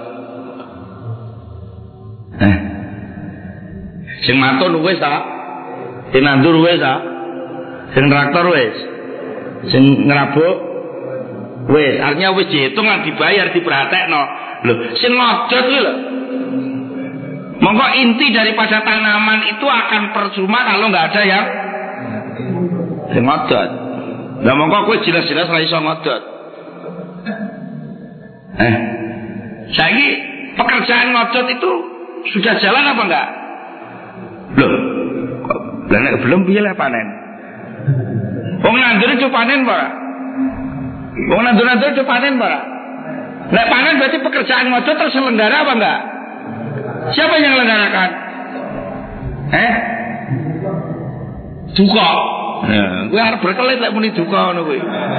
Sing maton wis ta? Sing nandur wis ta? Sing traktor wis? Sing ngrabuk Wis, artinya wis dihitung lan dibayar diperhatekno. Lho, sing ngodot kuwi lho. Monggo inti daripada tanaman itu akan percuma kalau nggak ada yang ngodot. Lah monggo kowe jelas-jelas ora iso ngodot. Saiki pekerjaan ngodot itu sudah jalan apa enggak? Loh. Lah nek belum piye lah panen? Wong nandur itu panen apa ora? Wong nandur itu panen apa ora? Nek panen berarti pekerjaan ngodot terselenggara apa enggak? Siapa yang menyelenggarakan? Duka. Gue harus berkelit lek muni duka ngono kuwi.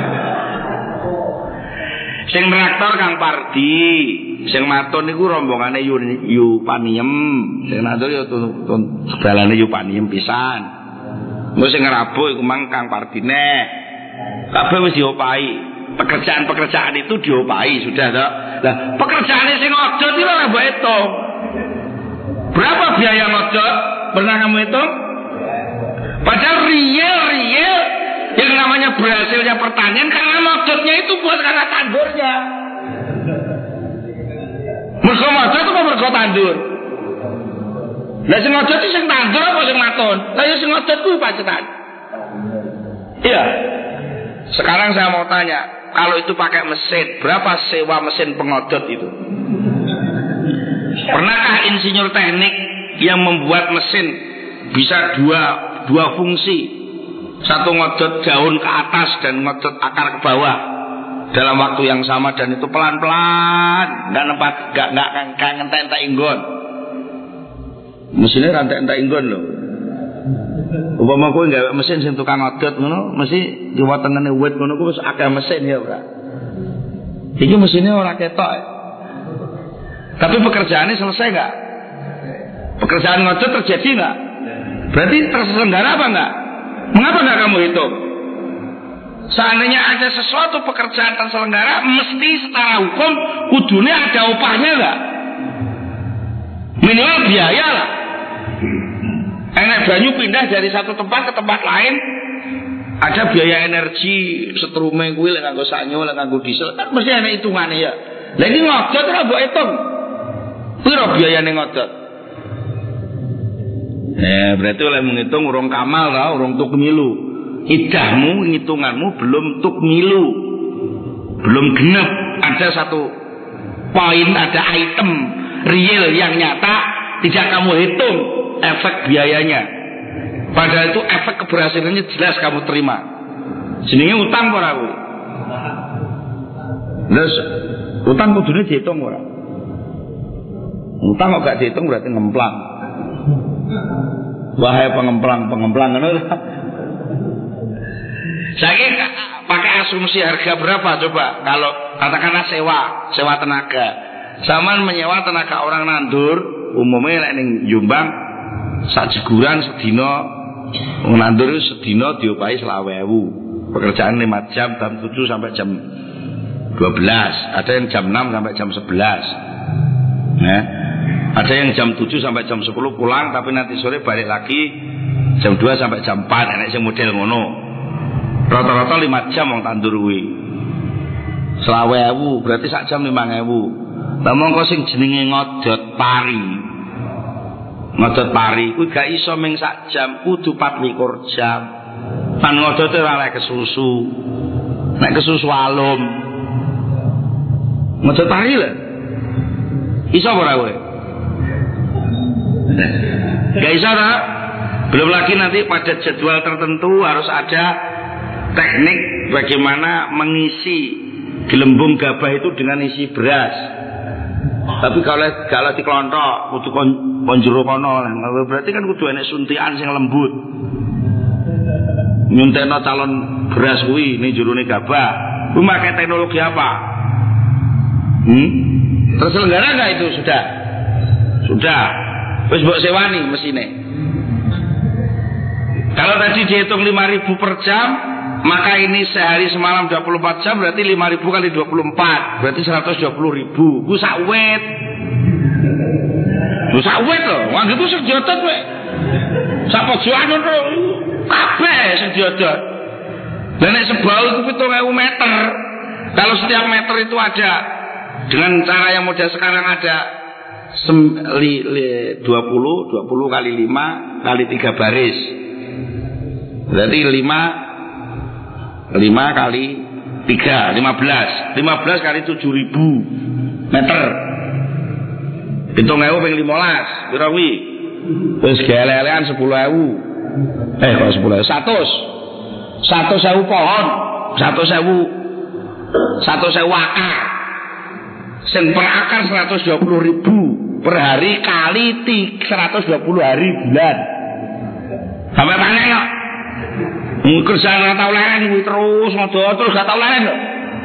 Sing traktor Kang Pardi, sing maton niku rombongane yu paniem. Sing nandur yo segalane yu paniem pisan. Engko sing ngerabuk iku mang Kang Pardine. Kabeh wis diopahi. Pekerjaan-pekerjaan itu diopahi sudah toh. Lah, pekerjaane sing ngodot iki ora mbok hitung. Berapa biaya ngodot? Pernah kamu hitung? Padahal real yang namanya berhasilnya pertanian karena ngodotnya itu buat karena tandurnya. Mergo ngodot itu mergo tandur. Lah sing ngodot itu sing tandur apa sing maton? Lah ya sing ngodot kuwi pacetan. Iya. Sekarang saya mau tanya, kalau itu pakai mesin, berapa sewa mesin pengodot itu? Pernahkah insinyur teknik yang membuat mesin bisa dua fungsi, satu ngodot daun ke atas dan ngodot akar ke bawah dalam waktu yang sama dan itu pelan-pelan, nggak ngentek-entek inggon, mesinnya rantai-entek inggon loh. Umpama kowe nggawe mesin sing tukang ngodot ngono, mesti diwetengene wit ngono ku wis akeh mesin ya ora. Iki mesinnya ora ketok. Tapi pekerjaannya selesai nggak? Pekerjaan ngodot terjadi nggak? Berarti terselenggara apa nggak? Mengapa nggak kamu hitung? Seandainya ada sesuatu pekerjaan terselenggara, mesti secara hukum kudunya ada upahnya nggak? Minimal biaya lah. Enak banyu pindah dari satu tempat ke tempat lain, ada biaya energi, setrume kuwi lek nganggo sanyo, lek nganggo diesel, kan mesti ana hitungane ya. Lah iki ngodot ora mbok hitung. Piro biayane ngodot? Berarti oleh menghitung urung kamal ta, urung tukmilu. Idahmu, hitunganmu belum tukmilu. Belum genep. Ada satu poin, ada item real yang nyata tidak kamu hitung efek biayanya. Padahal itu efek keberhasilannya jelas kamu terima. Jenenge utang ora kuwi. Terus utang kudune dihitung ora? Utang kok gak dihitung berarti ngemplang. Wahai pengemplang ngono. Saya pakai asumsi harga berapa coba? Kalau katakanlah sewa tenaga. Saman menyewa tenaga orang nandur, umumnya lek ning Jombang sak jeguran sedina nandur sedina diopahi 20.000. Pekerjaan 5 jam, jam 7 sampai jam 12. Ada yang jam 6 sampai jam 11. Nah, ada yang jam 7 sampai jam 10 pulang, tapi nanti sore balik lagi jam 2 sampai jam 4. Enak sing model ngono. Rata-rata 5 jam wong tandur kuwi. 20.000 berarti sak jam 5.000. Lah mongko sing jenenge ngodot pari. Ngodot pari kuwi gak iso ming sak jam, kudu 24 jam. Pan ngodote ora lek kesusu. Nek kesusu alum. Ngodot pari lho. Iso ora kowe? Gak iso ta? Belum lagi nanti pada jadwal tertentu harus ada teknik bagaimana mengisi gelembung gabah itu dengan isi beras. Tapi kalau diklontok kudu konjero kono, berarti kan kudu enek suntikan sing lembut. Nyuntekno calon beras kuwi ning jerone gabah. Kuwi pakai teknologi apa? Terselenggara enggak itu sudah? Sudah. Wis mbok sewani mesine. Kalau tadi dihitung 5.000 per jam, maka ini sehari semalam 24 jam berarti 5.000 kali 24 berarti 120.000. Ku sak wit. Ku sak wit lho, wong itu sediotot kowe. Sak pojokan ngono kabeh sediotot. Lah nek sebau iku 7.000 meter. Kalau setiap meter itu ada, dengan cara yang model sekarang ada 20 kali 5 kali 3 baris. Berarti 5 kali 3 15 kali 7.000 meter. Hitung ewu ping 15 pira kuwi? Wis gelelean 10.000. Kok 10.000? 100.000 pohon, 100.000 akar. Sing per akar 120.000 per hari kali 120 hari bulan. Sampai panen kok. Kerjaan ora tau leren kuwi terus gak tau leren kok.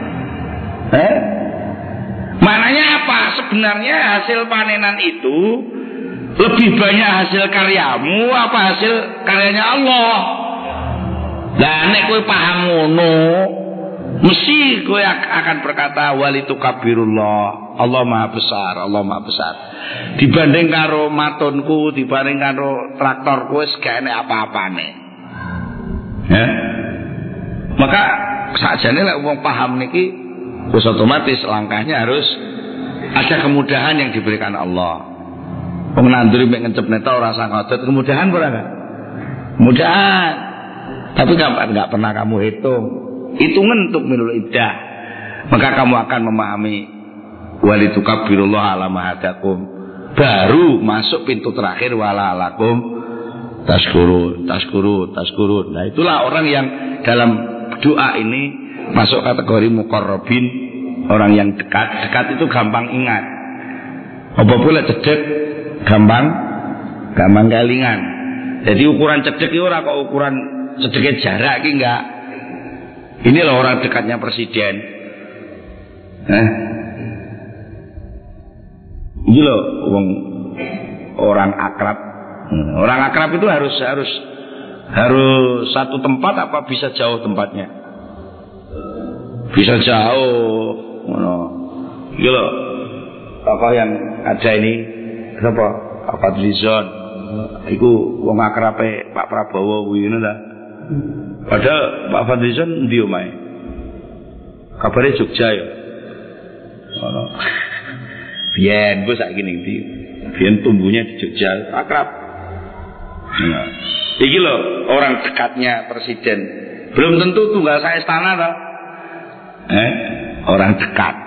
Maknanya apa? Sebenarnya hasil panenan itu lebih banyak hasil karyamu apa hasil karyanya Allah. Lah nek kowe paham ngono, mesti kowe akan berkata walitukabirullah, Allah Maha Besar, Allah Maha Besar. Dibanding karo matunku, dibanding karo traktorku wis gak enek apa-apane. Ya. Maka sakjane lek wong paham niki wis otomatis langkahnya harus ada kemudahan yang diberikan Allah. Wong nanduri mek ngencep neta ora usah ngotot, kemudahan ora kan? Mudahan. Tapi enggak pernah kamu hitung. Hitungan untuk minul iddah. Maka kamu akan memahami walitukabirullah ala ma hadakum. Baru masuk pintu terakhir wala alakum tashkurun. Nah, itulah orang yang dalam doa ini masuk kategori muqarrabin, orang yang dekat. Dekat itu gampang ingat. Apa boleh cedek gampang kelingan. Jadi ukuran cedek itu ora kok ukuran cedeknya jarak iki enggak. Ini loh orang dekatnya presiden. Ini loh orang akrab. Orang akrab itu harus satu tempat apa bisa jauh tempatnya? Bisa jauh. Ini loh tokoh yang ada ini siapa? Pak Fadlizon. Iku wong akrabe Pak Prabowo kuwi ngono ta. Padahal Pak Fadlizon ndi omahe? Kabare Jogja ya. Ngono. Biyen bos saiki ning ndi? Biyen tumbuhnya di Jogja, akrab. Nah, iki lho orang dekatnya presiden. Belum tentu tunggal saya istana toh. Orang dekat,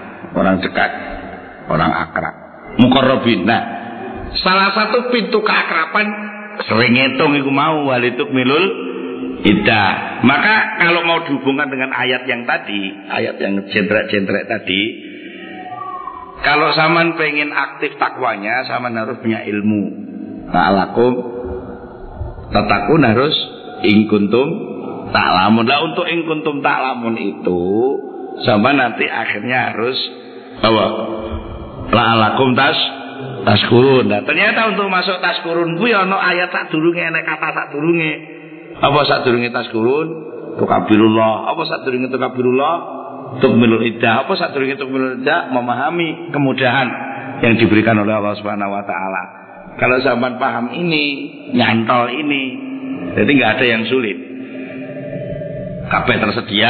orang akrab, muqarrabin. Nah, salah satu pintu keakraban sering ngitung iku mau walitukmilul iddah. Maka kalau mau dihubungkan dengan ayat yang tadi, ayat yang jendrek-jendrek tadi, kalau saman pengen aktif takwanya, saman harus punya ilmu. Ta'alakum tatakun harus ingkuntum ta'lamun. Lah untuk ingkuntum ta'lamun itu sama nanti akhirnya harus apa? La'alakum taskurun. Nah, ternyata untuk masuk taskurun kuwi ana ayat sadurunge, enek kata sadurunge. Apa sadurunge taskurun? Tukabirullah. Apa sadurunge tukabirullah? Tukmilul iddah. Apa sadurunge tukmilul iddah? Memahami kemudahan yang diberikan oleh Allah Subhanahu wa taala. Kalau sampean paham ini, nyantol ini, jadi enggak ada yang sulit. Kabeh tersedia.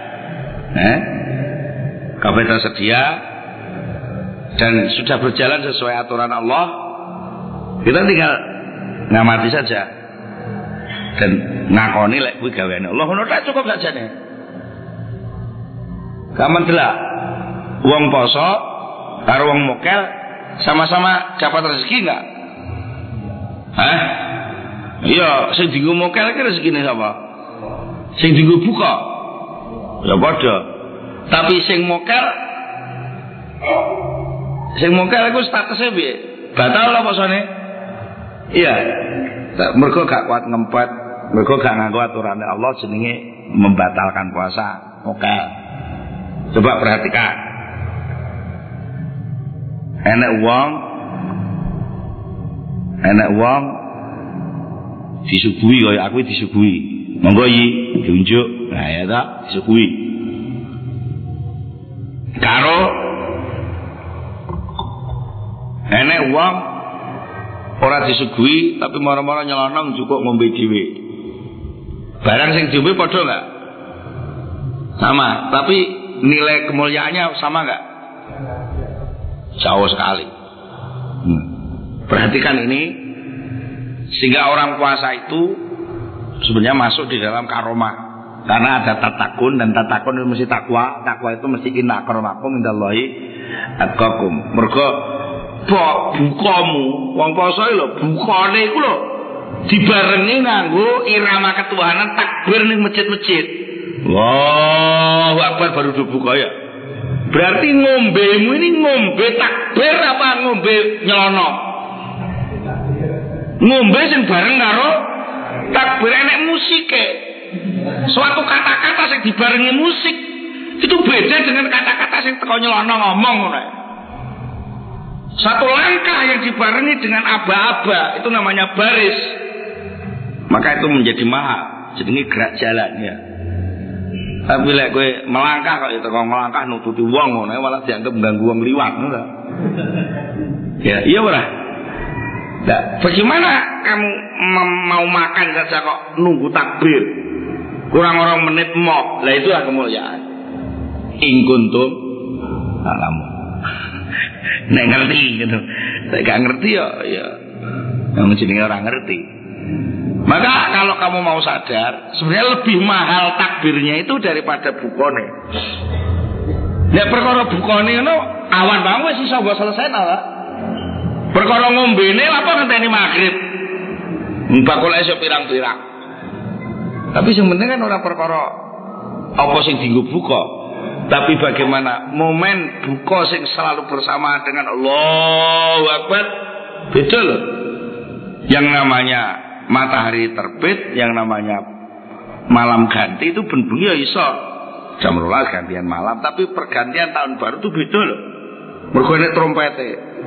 Kabeh tersedia dan sudah berjalan sesuai aturan Allah. Kita tinggal ngamati saja dan ngakoni lek kuwi gaweane Allah. Ngono tak cukup sajane. Kaman delak wong poso karo wong mokel sama-sama dapat rezeki enggak? Iya, sing dienggo mokel iki rezekine sapa? Sing dienggo buka. Ya padha. Tapi sing mokel iku statusnya piye? Batal apa posone? Iya. Mergo gak kuat ngempet, mergo gak nganggo aturane Allah jenenge membatalkan puasa. Oke. Coba perhatikan. Enek wong disuguhi kaya aku disuguhi. Monggo iki diunjuk. Nah ya ta, disuguhi. Karo enek wong ora disuguhi tapi mara-mara nyelonong cukup ngombe dhewe. Barang sing diombe padha enggak? Sama, tapi nilai kemuliaannya sama nggak? Jauh sekali. Perhatikan ini, sehingga orang puasa itu sebenarnya masuk di dalam karomah, karena ada tatakun, dan tatakun itu mesti takwa. Takwa itu mesti inna akramakum indallahi atqakum. Mergo bukamu wong poso lho, bukane iku lho dibarengi nganggo irama ketuhanan takbir ning masjid-masjid. Allahu Akbar baru dibuka ya. Berarti ngombemu ini ngombe takbir apa ngombe nyelono? Ngombe sing bareng karo takbir, enek musike. Suatu kata-kata sing dibarengi musik itu beda dengan kata-kata sing teko nyelono ngomong ngono. Satu langkah yang dibarengi dengan aba-aba itu namanya baris. Maka itu menjadi mahal. Jenenge gerak jalan ya. Tapi lek kowe melangkah kok itu kok melangkah nututi wong ngono malah dianggap ganggu wong liwat ngono. Ya, iya ora? Nah, bagaimana kamu mau makan saja kok nunggu takbir? Kurang orang menit mok. Lah itulah kemuliaan. In kuntum alamu. Nek ngerti gitu. Nek gak ngerti ya yang jenenge orang ngerti. Maka kalau kamu mau sadar, sebenarnya lebih mahal takbirnya itu daripada bukone. Nek perkara bukone ngono awan banget wis iso mbok selesai ta. Perkara ngombene apa ngenteni maghrib. Bakul esuk pirang-pirang. Tapi sing penting kan ora perkara apa sing dienggo buka, tapi bagaimana momen buka sing selalu bersama dengan Allahu Akbar. Beda loh. Yang namanya matahari terbit, yang namanya malam ganti itu benbengi ya iso jam 12 gantian malam, tapi pergantian tahun baru itu beda loh. Mergo nek trompete.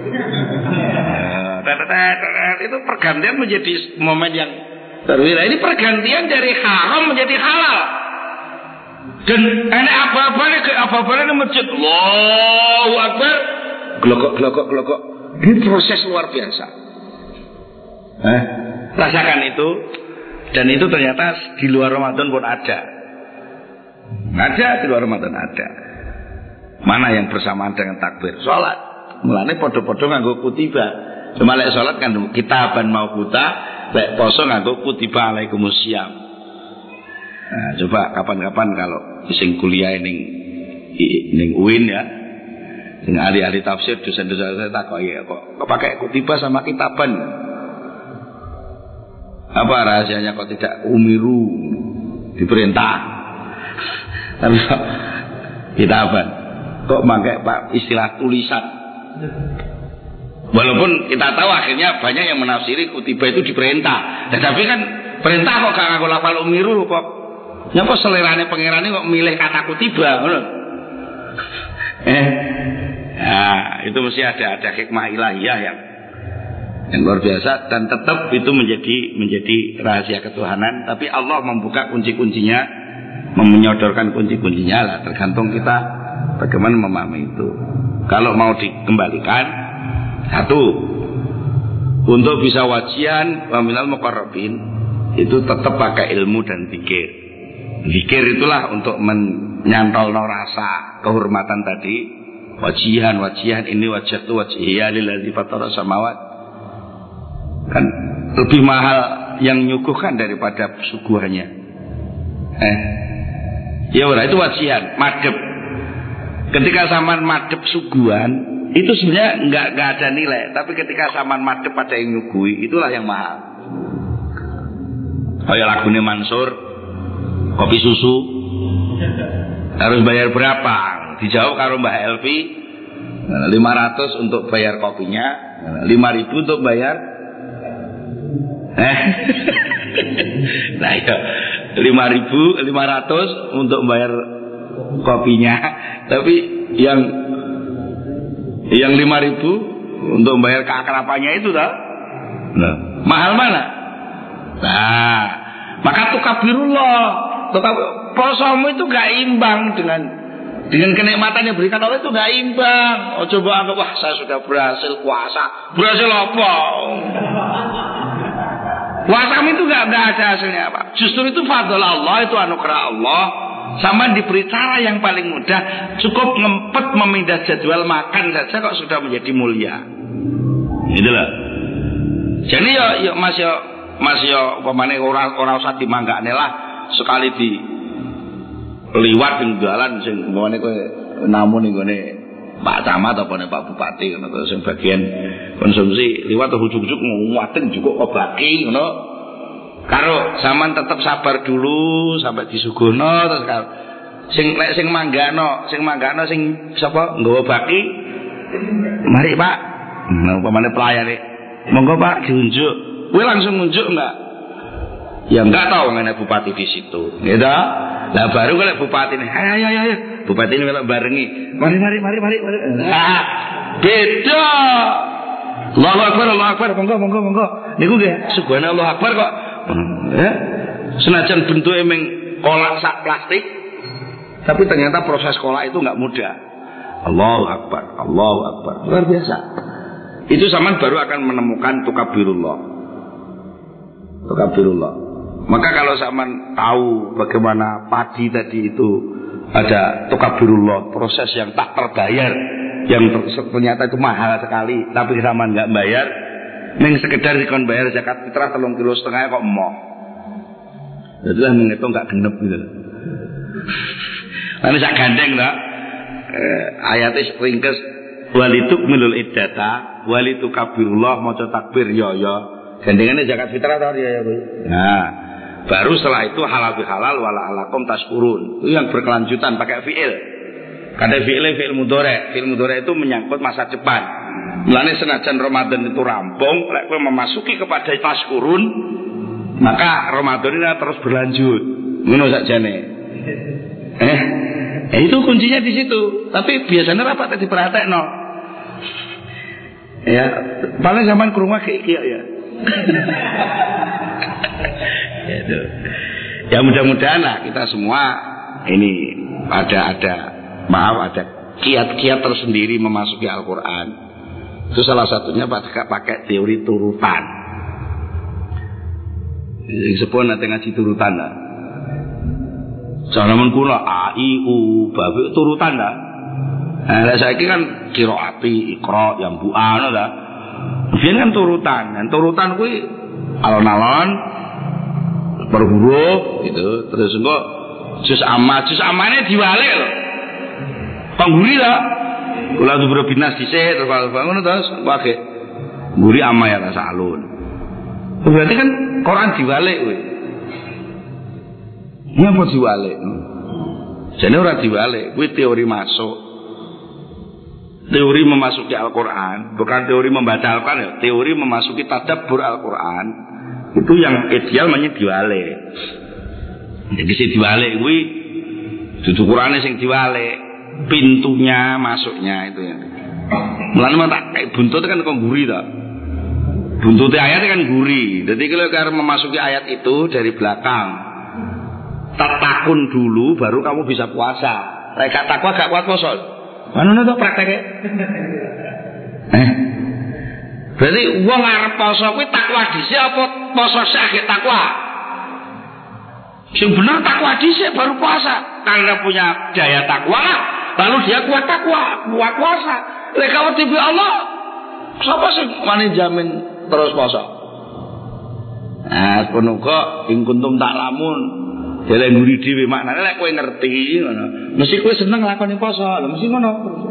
Itu pergantian menjadi momen yang terwira. Ini pergantian dari haram menjadi halal. Dan ini apa-apa ini masjid Allahu Akbar, glokok. Ini proses luar biasa. Rasakan itu. Dan itu ternyata di luar Ramadan pun ada. Di luar Ramadan ada. Mana yang bersamaan dengan takbir? Sholat. Mulane podo-podo nganggo kutiba. Cuma lek sholat kan kitaban mau kuta, lek poso nganggo kutiba alaikumusiyam. Nah, coba kapan-kapan kalau sing kuliah ning UIN ya, sing ahli-ahli tafsir, dosen-dosen saya takoki kok pakai kutiba sama kitaban. Apa rahasianya kok tidak umiru diperintah? Tapi kitaban kok pakai istilah tulisan. Walaupun kita tahu akhirnya banyak yang menafsiri kutiba itu diperintah. Tetapi kan perintah kok gak nganggo lafal umiru kok. Nyapa selerane pangerane kok milih kata kutiba ngono. Nah, itu mesti ada hikmah ilahiyah yang luar biasa, dan tetap itu menjadi rahasia ketuhanan. Tapi Allah membuka kunci-kuncinya, menyodorkan kunci-kuncinya lah, tergantung kita bagaimana memahami itu. Kalau mau dikembalikan, satu, untuk bisa wajian wa minal muqarrabin itu tetap pakai ilmu dan zikir. Zikir itulah untuk menyantolno rasa kehormatan tadi. Wajihan ini wajhatu wajhiya lillazi fatara samawat. Kan lebih mahal yang nyuguhkan daripada suguhannya. Ya udah, itu wajihan, madhep. Ketika sampean madhep suguhan itu sebenarnya nggak ada nilai, tapi ketika sampean madhep pada yang nyuguhi, itulah yang mahal. Kayak lagune Mansur, kopi susu harus bayar berapa? Dijawab karo Mbah Elvi, 500 untuk bayar kopinya, 5.000 untuk bayar. Nah ya, 5.500 untuk bayar kopinya, tapi yang 5.000 untuk bayar keakrapannya itu dah. Nah, mahal mana? Nah, maka tukabirullah, posomu itu gak imbang dengan kenikmatan yang berikan Allah, itu gak imbang. Oh coba anggap, wah saya sudah berhasil puasa. Berhasil apa? Puasamu itu gak ada hasilnya apa. Justru itu fadl Allah, itu anugerah Allah. Sama diberi cara yang paling mudah, cukup ngempet memindah jadwal makan saja kok sudah menjadi mulia. Itulah. Jadi ya Mas upamane ora usah dimanggakne lah sekali di liwat ning dalan sing ngene kowe namun ning gone Pak Camat apa Pak Bupati ngono to sing bagian konsumsi liwat ujug-ujug nguwaten cukup kebaki ngono. Karo sampean tetep sabar dulu sampai disuguhno terus karo sing manggano sing sapa nggawa baki mari Pak. Nah upamane pelayane monggo Pak diunjuk. Kowe langsung nunjuk enggak? Ya enggak tahu ngene bupati di situ. Gitu. Lah baru kalau bupati ini, ayo. Bupati ini melok barengi. Mari. Nah, beda. Allahu Akbar, monggo. Niku nggih subhanallah akbar kok. Senajan bentuke meng kolak sak plastik, tapi ternyata proses kolak itu enggak mudah. Allahu Akbar. Luar biasa. Itu zaman baru akan menemukan tukabirullah. Maka kalau zaman tahu bagaimana padi tadi itu ada tukabirullah, proses yang tak terbayar, yang ternyata itu mahal sekali, tapi zaman nggak bayar, neng sekedar dikon bayar zakat fitrah 3,5 kilo kok emoh. Jadilah menghitung nggak genep gitu. Lalu sak gandeng tak? Ayatnya ringkes walituk milul iddata walitukabirullah maca takbir ya. Gandengannya zakat fitrah tau ya Bu. Nah, baru setelah itu halal bihalal wala alakum tashkurun. Itu yang berkelanjutan pakai fiil. Kada fiil mudhari. Fiil mudhari itu menyangkut masa depan. Mulane senajan Ramadan itu rampung, lek kowe memasuki kepada tashkurun, maka Ramadan ini terus berlanjut. Ngono sakjane. Itu kuncinya di situ. Tapi biasanya rapat diperhatekno. Ya, paling zaman ke rumah kayak ya. Ya mudah-mudahan lah kita semua ini ada kiat-kiat tersendiri memasuki Al-Quran. Itu salah satunya pakai teori turutan. Sepuluh nanti ngaji turutan lah. Zaman kuno A I U babi turutan lah. Nah, saya ini kan kiroati ikro yang bu'an lah. Biyen kan turutan. Dan turutan kuwi alon-alon per huruf gitu. Terus engko juz amane diwalik lho. Pangguri lah. Kula dubro binas dhisik terus ngono terus pakai guri amma ya tasalun. Berarti kan Quran diwalik kuwi. Ngapa diwalik? Jane ora diwalik, kuwi teori masuk. Teori memasuki Al-Quran, bukan teori membaca Al-Quran ya, teori memasuki tadabbur Al-Quran. Itu yang ideal namanya diwalik. Jadi sing diwalik kuwi dudu Qurane sing diwalik, pintunya masuknya itu ya. Mulane tak kayak buntut kan kok guri ta. Buntutnya ayat kan guri. Jadi kalau memasuki ayat itu dari belakang, takun dulu baru kamu bisa puasa. Reka takwa gak kuat poso. Mana tuh prakteknya? Berarti wong arep poso kuwi takwa dhisik apa poso sik takwa? Sing bener takwa dhisik baru puasa. Karena punya daya takwa, lalu dia kuat takwa, kuat puasa. Lek kawat tibi Allah, sapa sing wani jamin terus poso? Nah, kono kok ing kuntum tak lamun dhewe nguri dhewe maknane lek kowe ngerti ngono. Mesti kowe seneng nglakoni poso. Lha mesti ngono.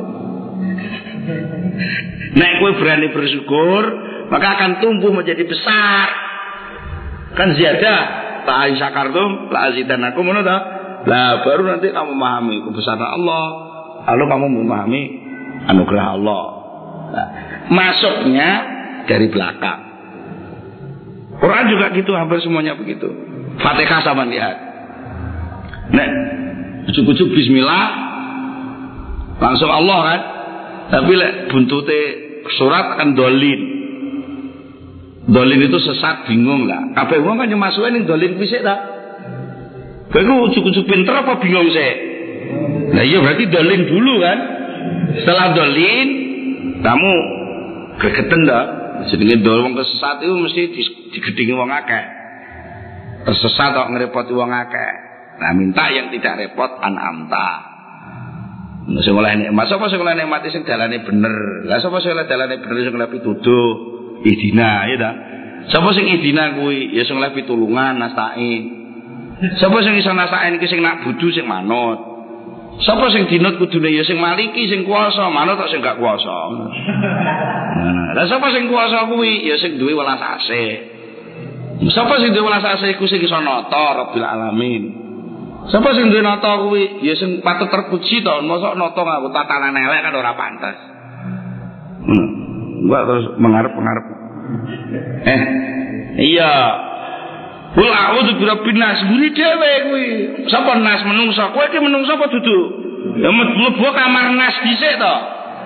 Nek kowe berani bersyukur, maka akan tumbuh menjadi besar. Kan ziyadah, ta syakartum la azidanakum ngono ta. Lah baru nanti kamu memahami kebesaran Allah, lalu kamu memahami anugerah Allah. Nah, masuknya dari belakang. Quran juga gitu, hampir semuanya begitu. Fatihah sama lihat. Nek ujuk-ujuk bismillah langsung Allah kan. Tapi lek buntute surat kan dolin. Dolin itu sesat bingung lah. Kabeh wong kan nyemasuke ning dolin kuwi sik ta. Kowe ujuk-ujuk pinter apa bingung sik? Nah iya berarti dolin dulu kan. Setelah dolin kamu gregeten ta. Jenenge dol wong kesesat itu mesti digedhingi wong akeh. Tersesat kok ngrepoti wong akeh. Nah, minta yang tidak repot an'amta. Sing oleh nikmat, sapa sing oleh nikmat sing dalane bener. Lah sapa sing oleh dalane bener sing oleh pituduh, idina ya ta. Sapa sing idina kuwi ya sing oleh pitulungan nasta'in. Sapa sing iso nasta'in iki sing nak budu sing manut. Sapa sing dinut kudune ya sing maliki sing kuwasa, manut kok sing gak kuwasa. Lah sapa sing kuwasa kuwi ya sing duwe welas asih. Sapa sing duwe welas asih iku sing iso nata Rabbil alamin. Sapa sing duwe nata kuwi ya sing patut terpuji to, mosok nata nganggo tatanan elek kan ora pantes. Enggak terus mengarep-ngarep. Iya. Kul a'udzu birabbin nas, buri dhewe kuwi. Sapa nas menungso? Kowe iki menungso apa dudu? Ya mlebu kamar nas dhisik to.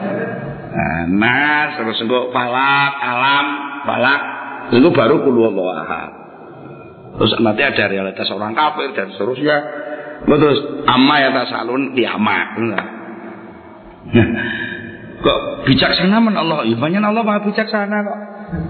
Nas terus engko falak, alam, falak. Itu baru qul huwallahu ahad. Terus nanti ada realitas orang kafir dan seterusnya. Terus amma ya tasalun kiamat. Kok bijaksana men Allah? Ya banyak Allah Maha bijaksana kok.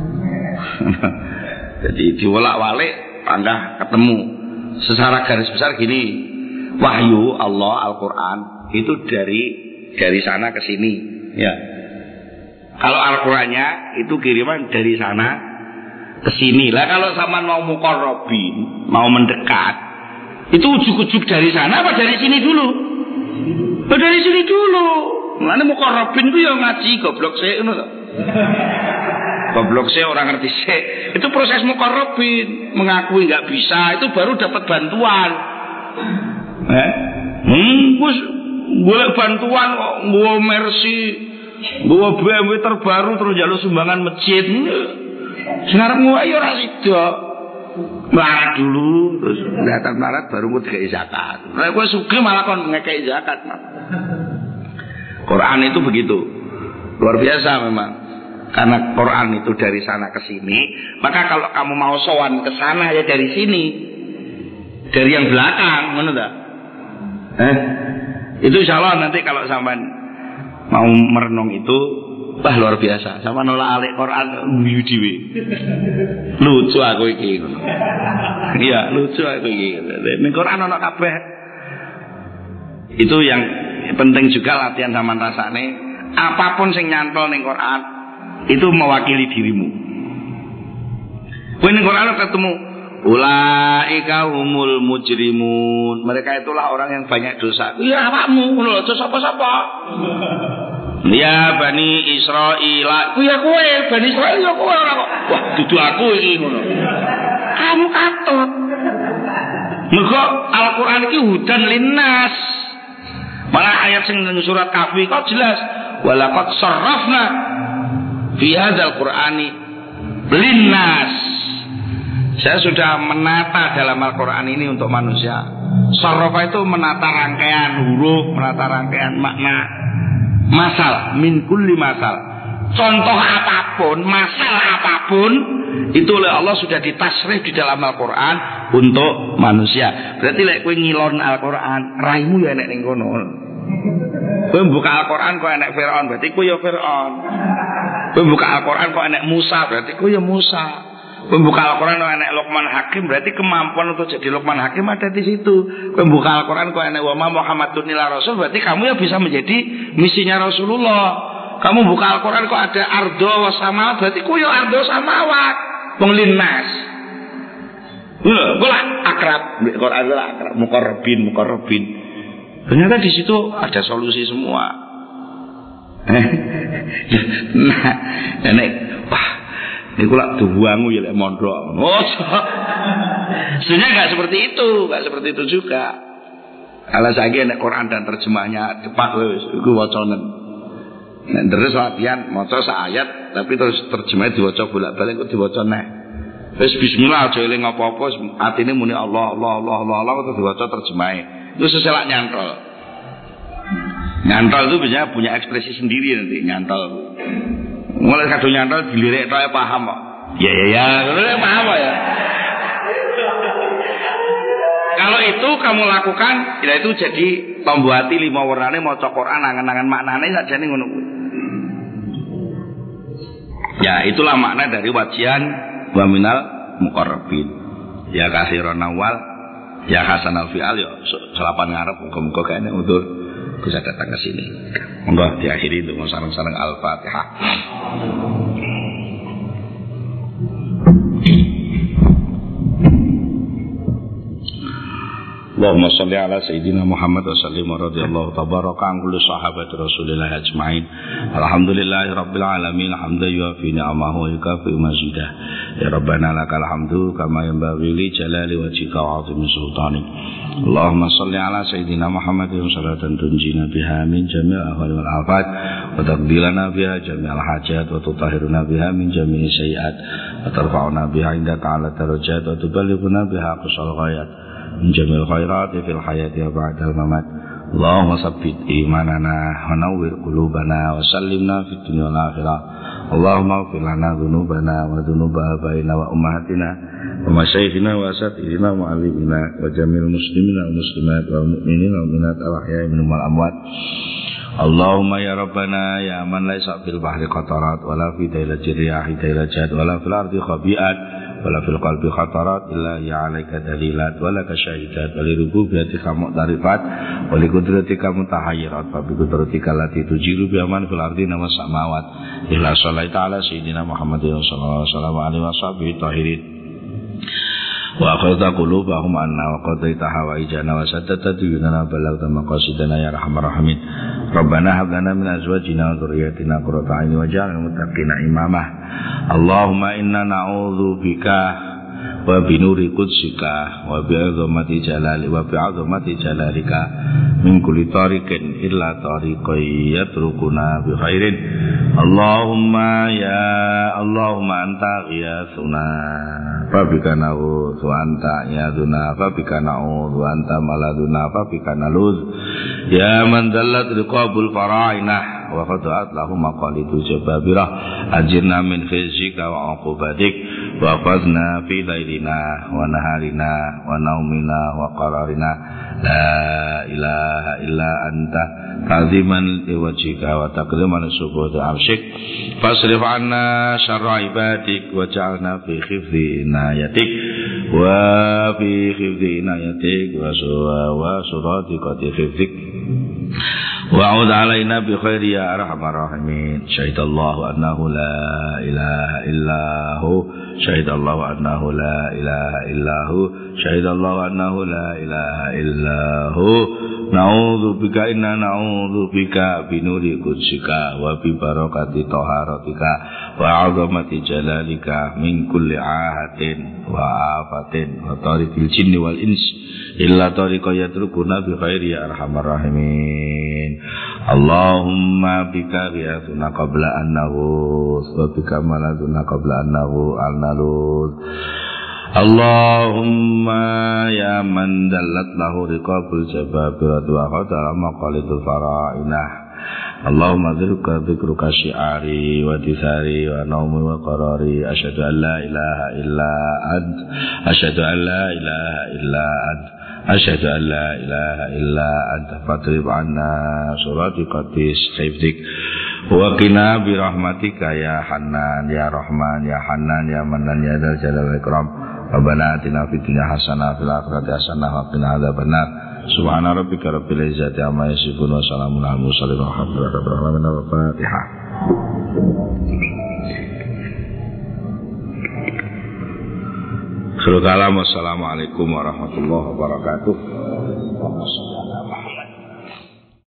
Jadi diwolak-walik Anda ketemu secara garis besar gini, wahyu Allah Al-Quran itu dari sana ke sini ya. Kalau Al-Qurannya itu kiriman dari sana ke sini lah. Kalau sama mau muqarrabin, mau mendekat, itu ujuk-ujuk dari sana apa dari sini dulu? Dari sini dulu. Mana muqarrabin itu ya ngaji goblok sih ngono to. Goblok sih orang ngerti sih. Itu proses muqarrabin, mengakui nggak bisa, itu baru dapat bantuan. Bos boleh bantuan kok, bawa Mercy, bawa BMW terbaru terus jalur sumbangan masjid. Sekarang gua ayo rasido, melarat dulu, terus kelihatan melarat baru mau dikai zakat. Nah, gua suka malah kon ngekei zakat. Quran itu begitu, luar biasa memang. Karena Quran itu dari sana ke sini, maka kalau kamu mau sowan ke sana ya dari sini, dari yang belakang, mana dah? Itu insya Allah nanti kalau sampean mau merenung itu, wah luar biasa. Sama nolak alik Quran guyu dhewe. Lucu aku iki. Iya, lucu aku iki. Ning Quran ana kabeh. Itu yang penting juga latihan sama rasane. Apapun sing nyantol ning Quran itu mewakili dirimu. Kowe ning Quran ketemu ulaika humul mujrimun. Mereka itulah orang yang banyak dosa. Iya awakmu ngono lho, sapa-sapa. Ya Bani Israil. Ya kowe Bani Israil ya kowe ora kok. Wah, dudu aku iki ngono. Kamu katut. Mergo Al-Qur'an iki hudan linnas. Malah ayat sing nang surat Kahfi kok jelas walaqad sarrafna fi hadzal Qur'ani linnas. Saya sudah menata dalam Al-Qur'an ini untuk manusia. Sarrafa itu menata rangkaian huruf, menata rangkaian makna. Masal min kulli masal. Contoh apapun, masal apapun itu oleh Allah sudah ditasrif di dalam Al-Qur'an untuk manusia. Berarti lek kowe ngilon Al-Qur'an, raimu ya enek ning kono. Kowe buka Al-Qur'an kok enek Firaun, berarti kowe ya Firaun. Kowe buka Al-Qur'an kok enek Musa, berarti kowe ya Musa. Kowe buka Al-Qur'an kok enek Luqman Hakim, berarti kemampuan untuk jadi Luqman Hakim ada di situ. Kowe buka Al-Qur'an kok enek wa ma Muhammadun illa rasul, berarti kamu ya bisa menjadi misinya Rasulullah. Kamu buka Al-Qur'an kok ada ardo wa samawat, berarti kowe ya ardo samawat. Wong linnas. Kula akrab, Quran adalah akrab, muqarrabin. Ternyata di situ ada solusi semua. Nah, nek wah, niku lak duwangu ya lek mondok. Oh, sebenarnya enggak seperti itu juga. Kalau saiki nek Quran dan terjemahnya cepat wis iku wacanen. Nek terus latihan maca sak ayat tapi terus terjemahnya diwaca bolak-balik kok diwaca neh. Wis bismillah aja eling apa-apa, atine muni Allah terus diwaca terjemahe. Itu seselak nyantol. Nyantol itu biasanya punya ekspresi sendiri nanti nyantol. Mulai kadung nyantol dilirik tok paham kok. Ya, paham ya. Kalau itu kamu lakukan, ya itu jadi pembuati 5 warnane maca Quran angan-angan maknane sakjane ngono kuwi. Ya, itulah makna dari wajian wa minal muqarrabin. Ya kasiron awal Ya Hasan Al-Fi'al ya selapan ngarep muga-muga kene untuk bisa datang ke sini. Monggo diakhiri untuk sareng-sareng Al-Fatihah. Allahumma salli ala Sayyidina Muhammad wa sallim wa radiyallahu tabaraka an kulli sahabati Rasulillah ajma'in. Alhamdulillahi rabbil alamin, hamdan yuafi ni'amahu wa yukafi mazidah. Ya Rabbana lakal hamdu kama yanbaghi li jalali wajhika wa 'azimi sultanik. Allahumma salli ala Sayyidina Muhammad wa salatan tunjina biha min jami'il ahwali wal afat wa taqdilana biha jami'al hajat wa tutahhiruna biha min jami'i sayyi'at wa tarfa'una biha indaka 'ala darajat wa tuballighuna biha aqsal ghayat min jamil khairati fil hayati wa ba'dal mamat. Allahumma sabbit imanana wa nawwir qulubana wa sallimna fid dunya wal akhirah. Allahumma ighfir lana dhunubana wa dhunuba abaina wa ummahatina wa masyayikhina wa asatidina wa mu'allimina wa jamil muslimina wa muslimat wa mu'minina wa mu'minat al-ahya'i minhum wal amwat. Allahumma ya Rabbana ya man laysa fil bahri qatarat wa la fi dailati riyahi dailajat wa la fil ardi khabi'at wala fil qalbi khatarat illa ya alaika dalilat wala kasyahidat wali rububiyatika mu'tarifat wali kudratika mutahayyirat wa bi kudratika lati tujiru bi aman fil ardi nama samawat illa sholli ta'ala sayyidina Muhammadin sallallahu alaihi wasallam tahirin wa akhadha qulubahum anna wa qadaita hawaijana wa saddata duyunana balagta maqasidana ya rahman rahimin. Rabbana hab lana min azwajina wa dhurriyyatina qurrata a'yun waj'alna lil muttaqina imama. Allahumma inna na'udzu bika wa bi nuri qudsika wa bi 'azamati jalali wa bi 'azamati jalalika min kulli tariqin illa tariqan yatrukuna bi khairin. Allahumma anta ghiyasuna fa bika na'udzu wa anta yaduna fa bika na'udzu wa anta maladuna fa bika naluz. Ya man dallat riqabul fara'inah wa qad'at lahum maqalidu jababirah ajirna min khizyika wa 'uqubatik wa fazna fi lailina wa naharina wa naumina wa qararina la ilaha illa anta ta'ziman liwajhika wa taqdiman subuhati arsyik fasrif 'anna syarra ibadik wa ja'alna fi khifdhi inayatik wa fi khifdhi inayatik wa suratiqati khifdik wa'ud alaina bi khairi ya arhamar rahimin. Syahidallahu annahu la ilaha illahu syahidallahu annahu la ilaha illahu syahidallahu annahu la ilaha illahu na'udzu bika inna na'udzu bika bi nuri qudsika wa bi barakati taharatika wa 'azamati jalalika min kulli ahatin wa afatin wa tariqil jinni wal ins illa tariqa yatrukuna bi khairi ya arhamar rahimin. Allahumma bika ghiyasuna qabla an naghus wa bika maladuna qabla an naluz. Allahumma ya man dallat lahu riqabul jababiratu wa qadara maqalidul fara'inah. Allahumma dzikruka syi'ari wa tisari wa naumi wa qarari asyhadu an la ilaha illa ant asyhadu an la ilaha illa ant asyhadu an la ilaha illa anta fatrib anna suratiqatis hifdik wa qina bi rahmatika ya Hannan ya Rahman ya Hannan ya Mannan ya Dzal Jalali wal Ikram. Rabbana atina fid dunya hasanah fil akhirati hasanah wa qina adzabannar. Subhana rabbika rabbil izzati amma yasifun wa salamun alal mursalin walhamdulillahi rabbil alamin. Al-Fatihah. Assalamualaikum warahmatullahi wabarakatuh.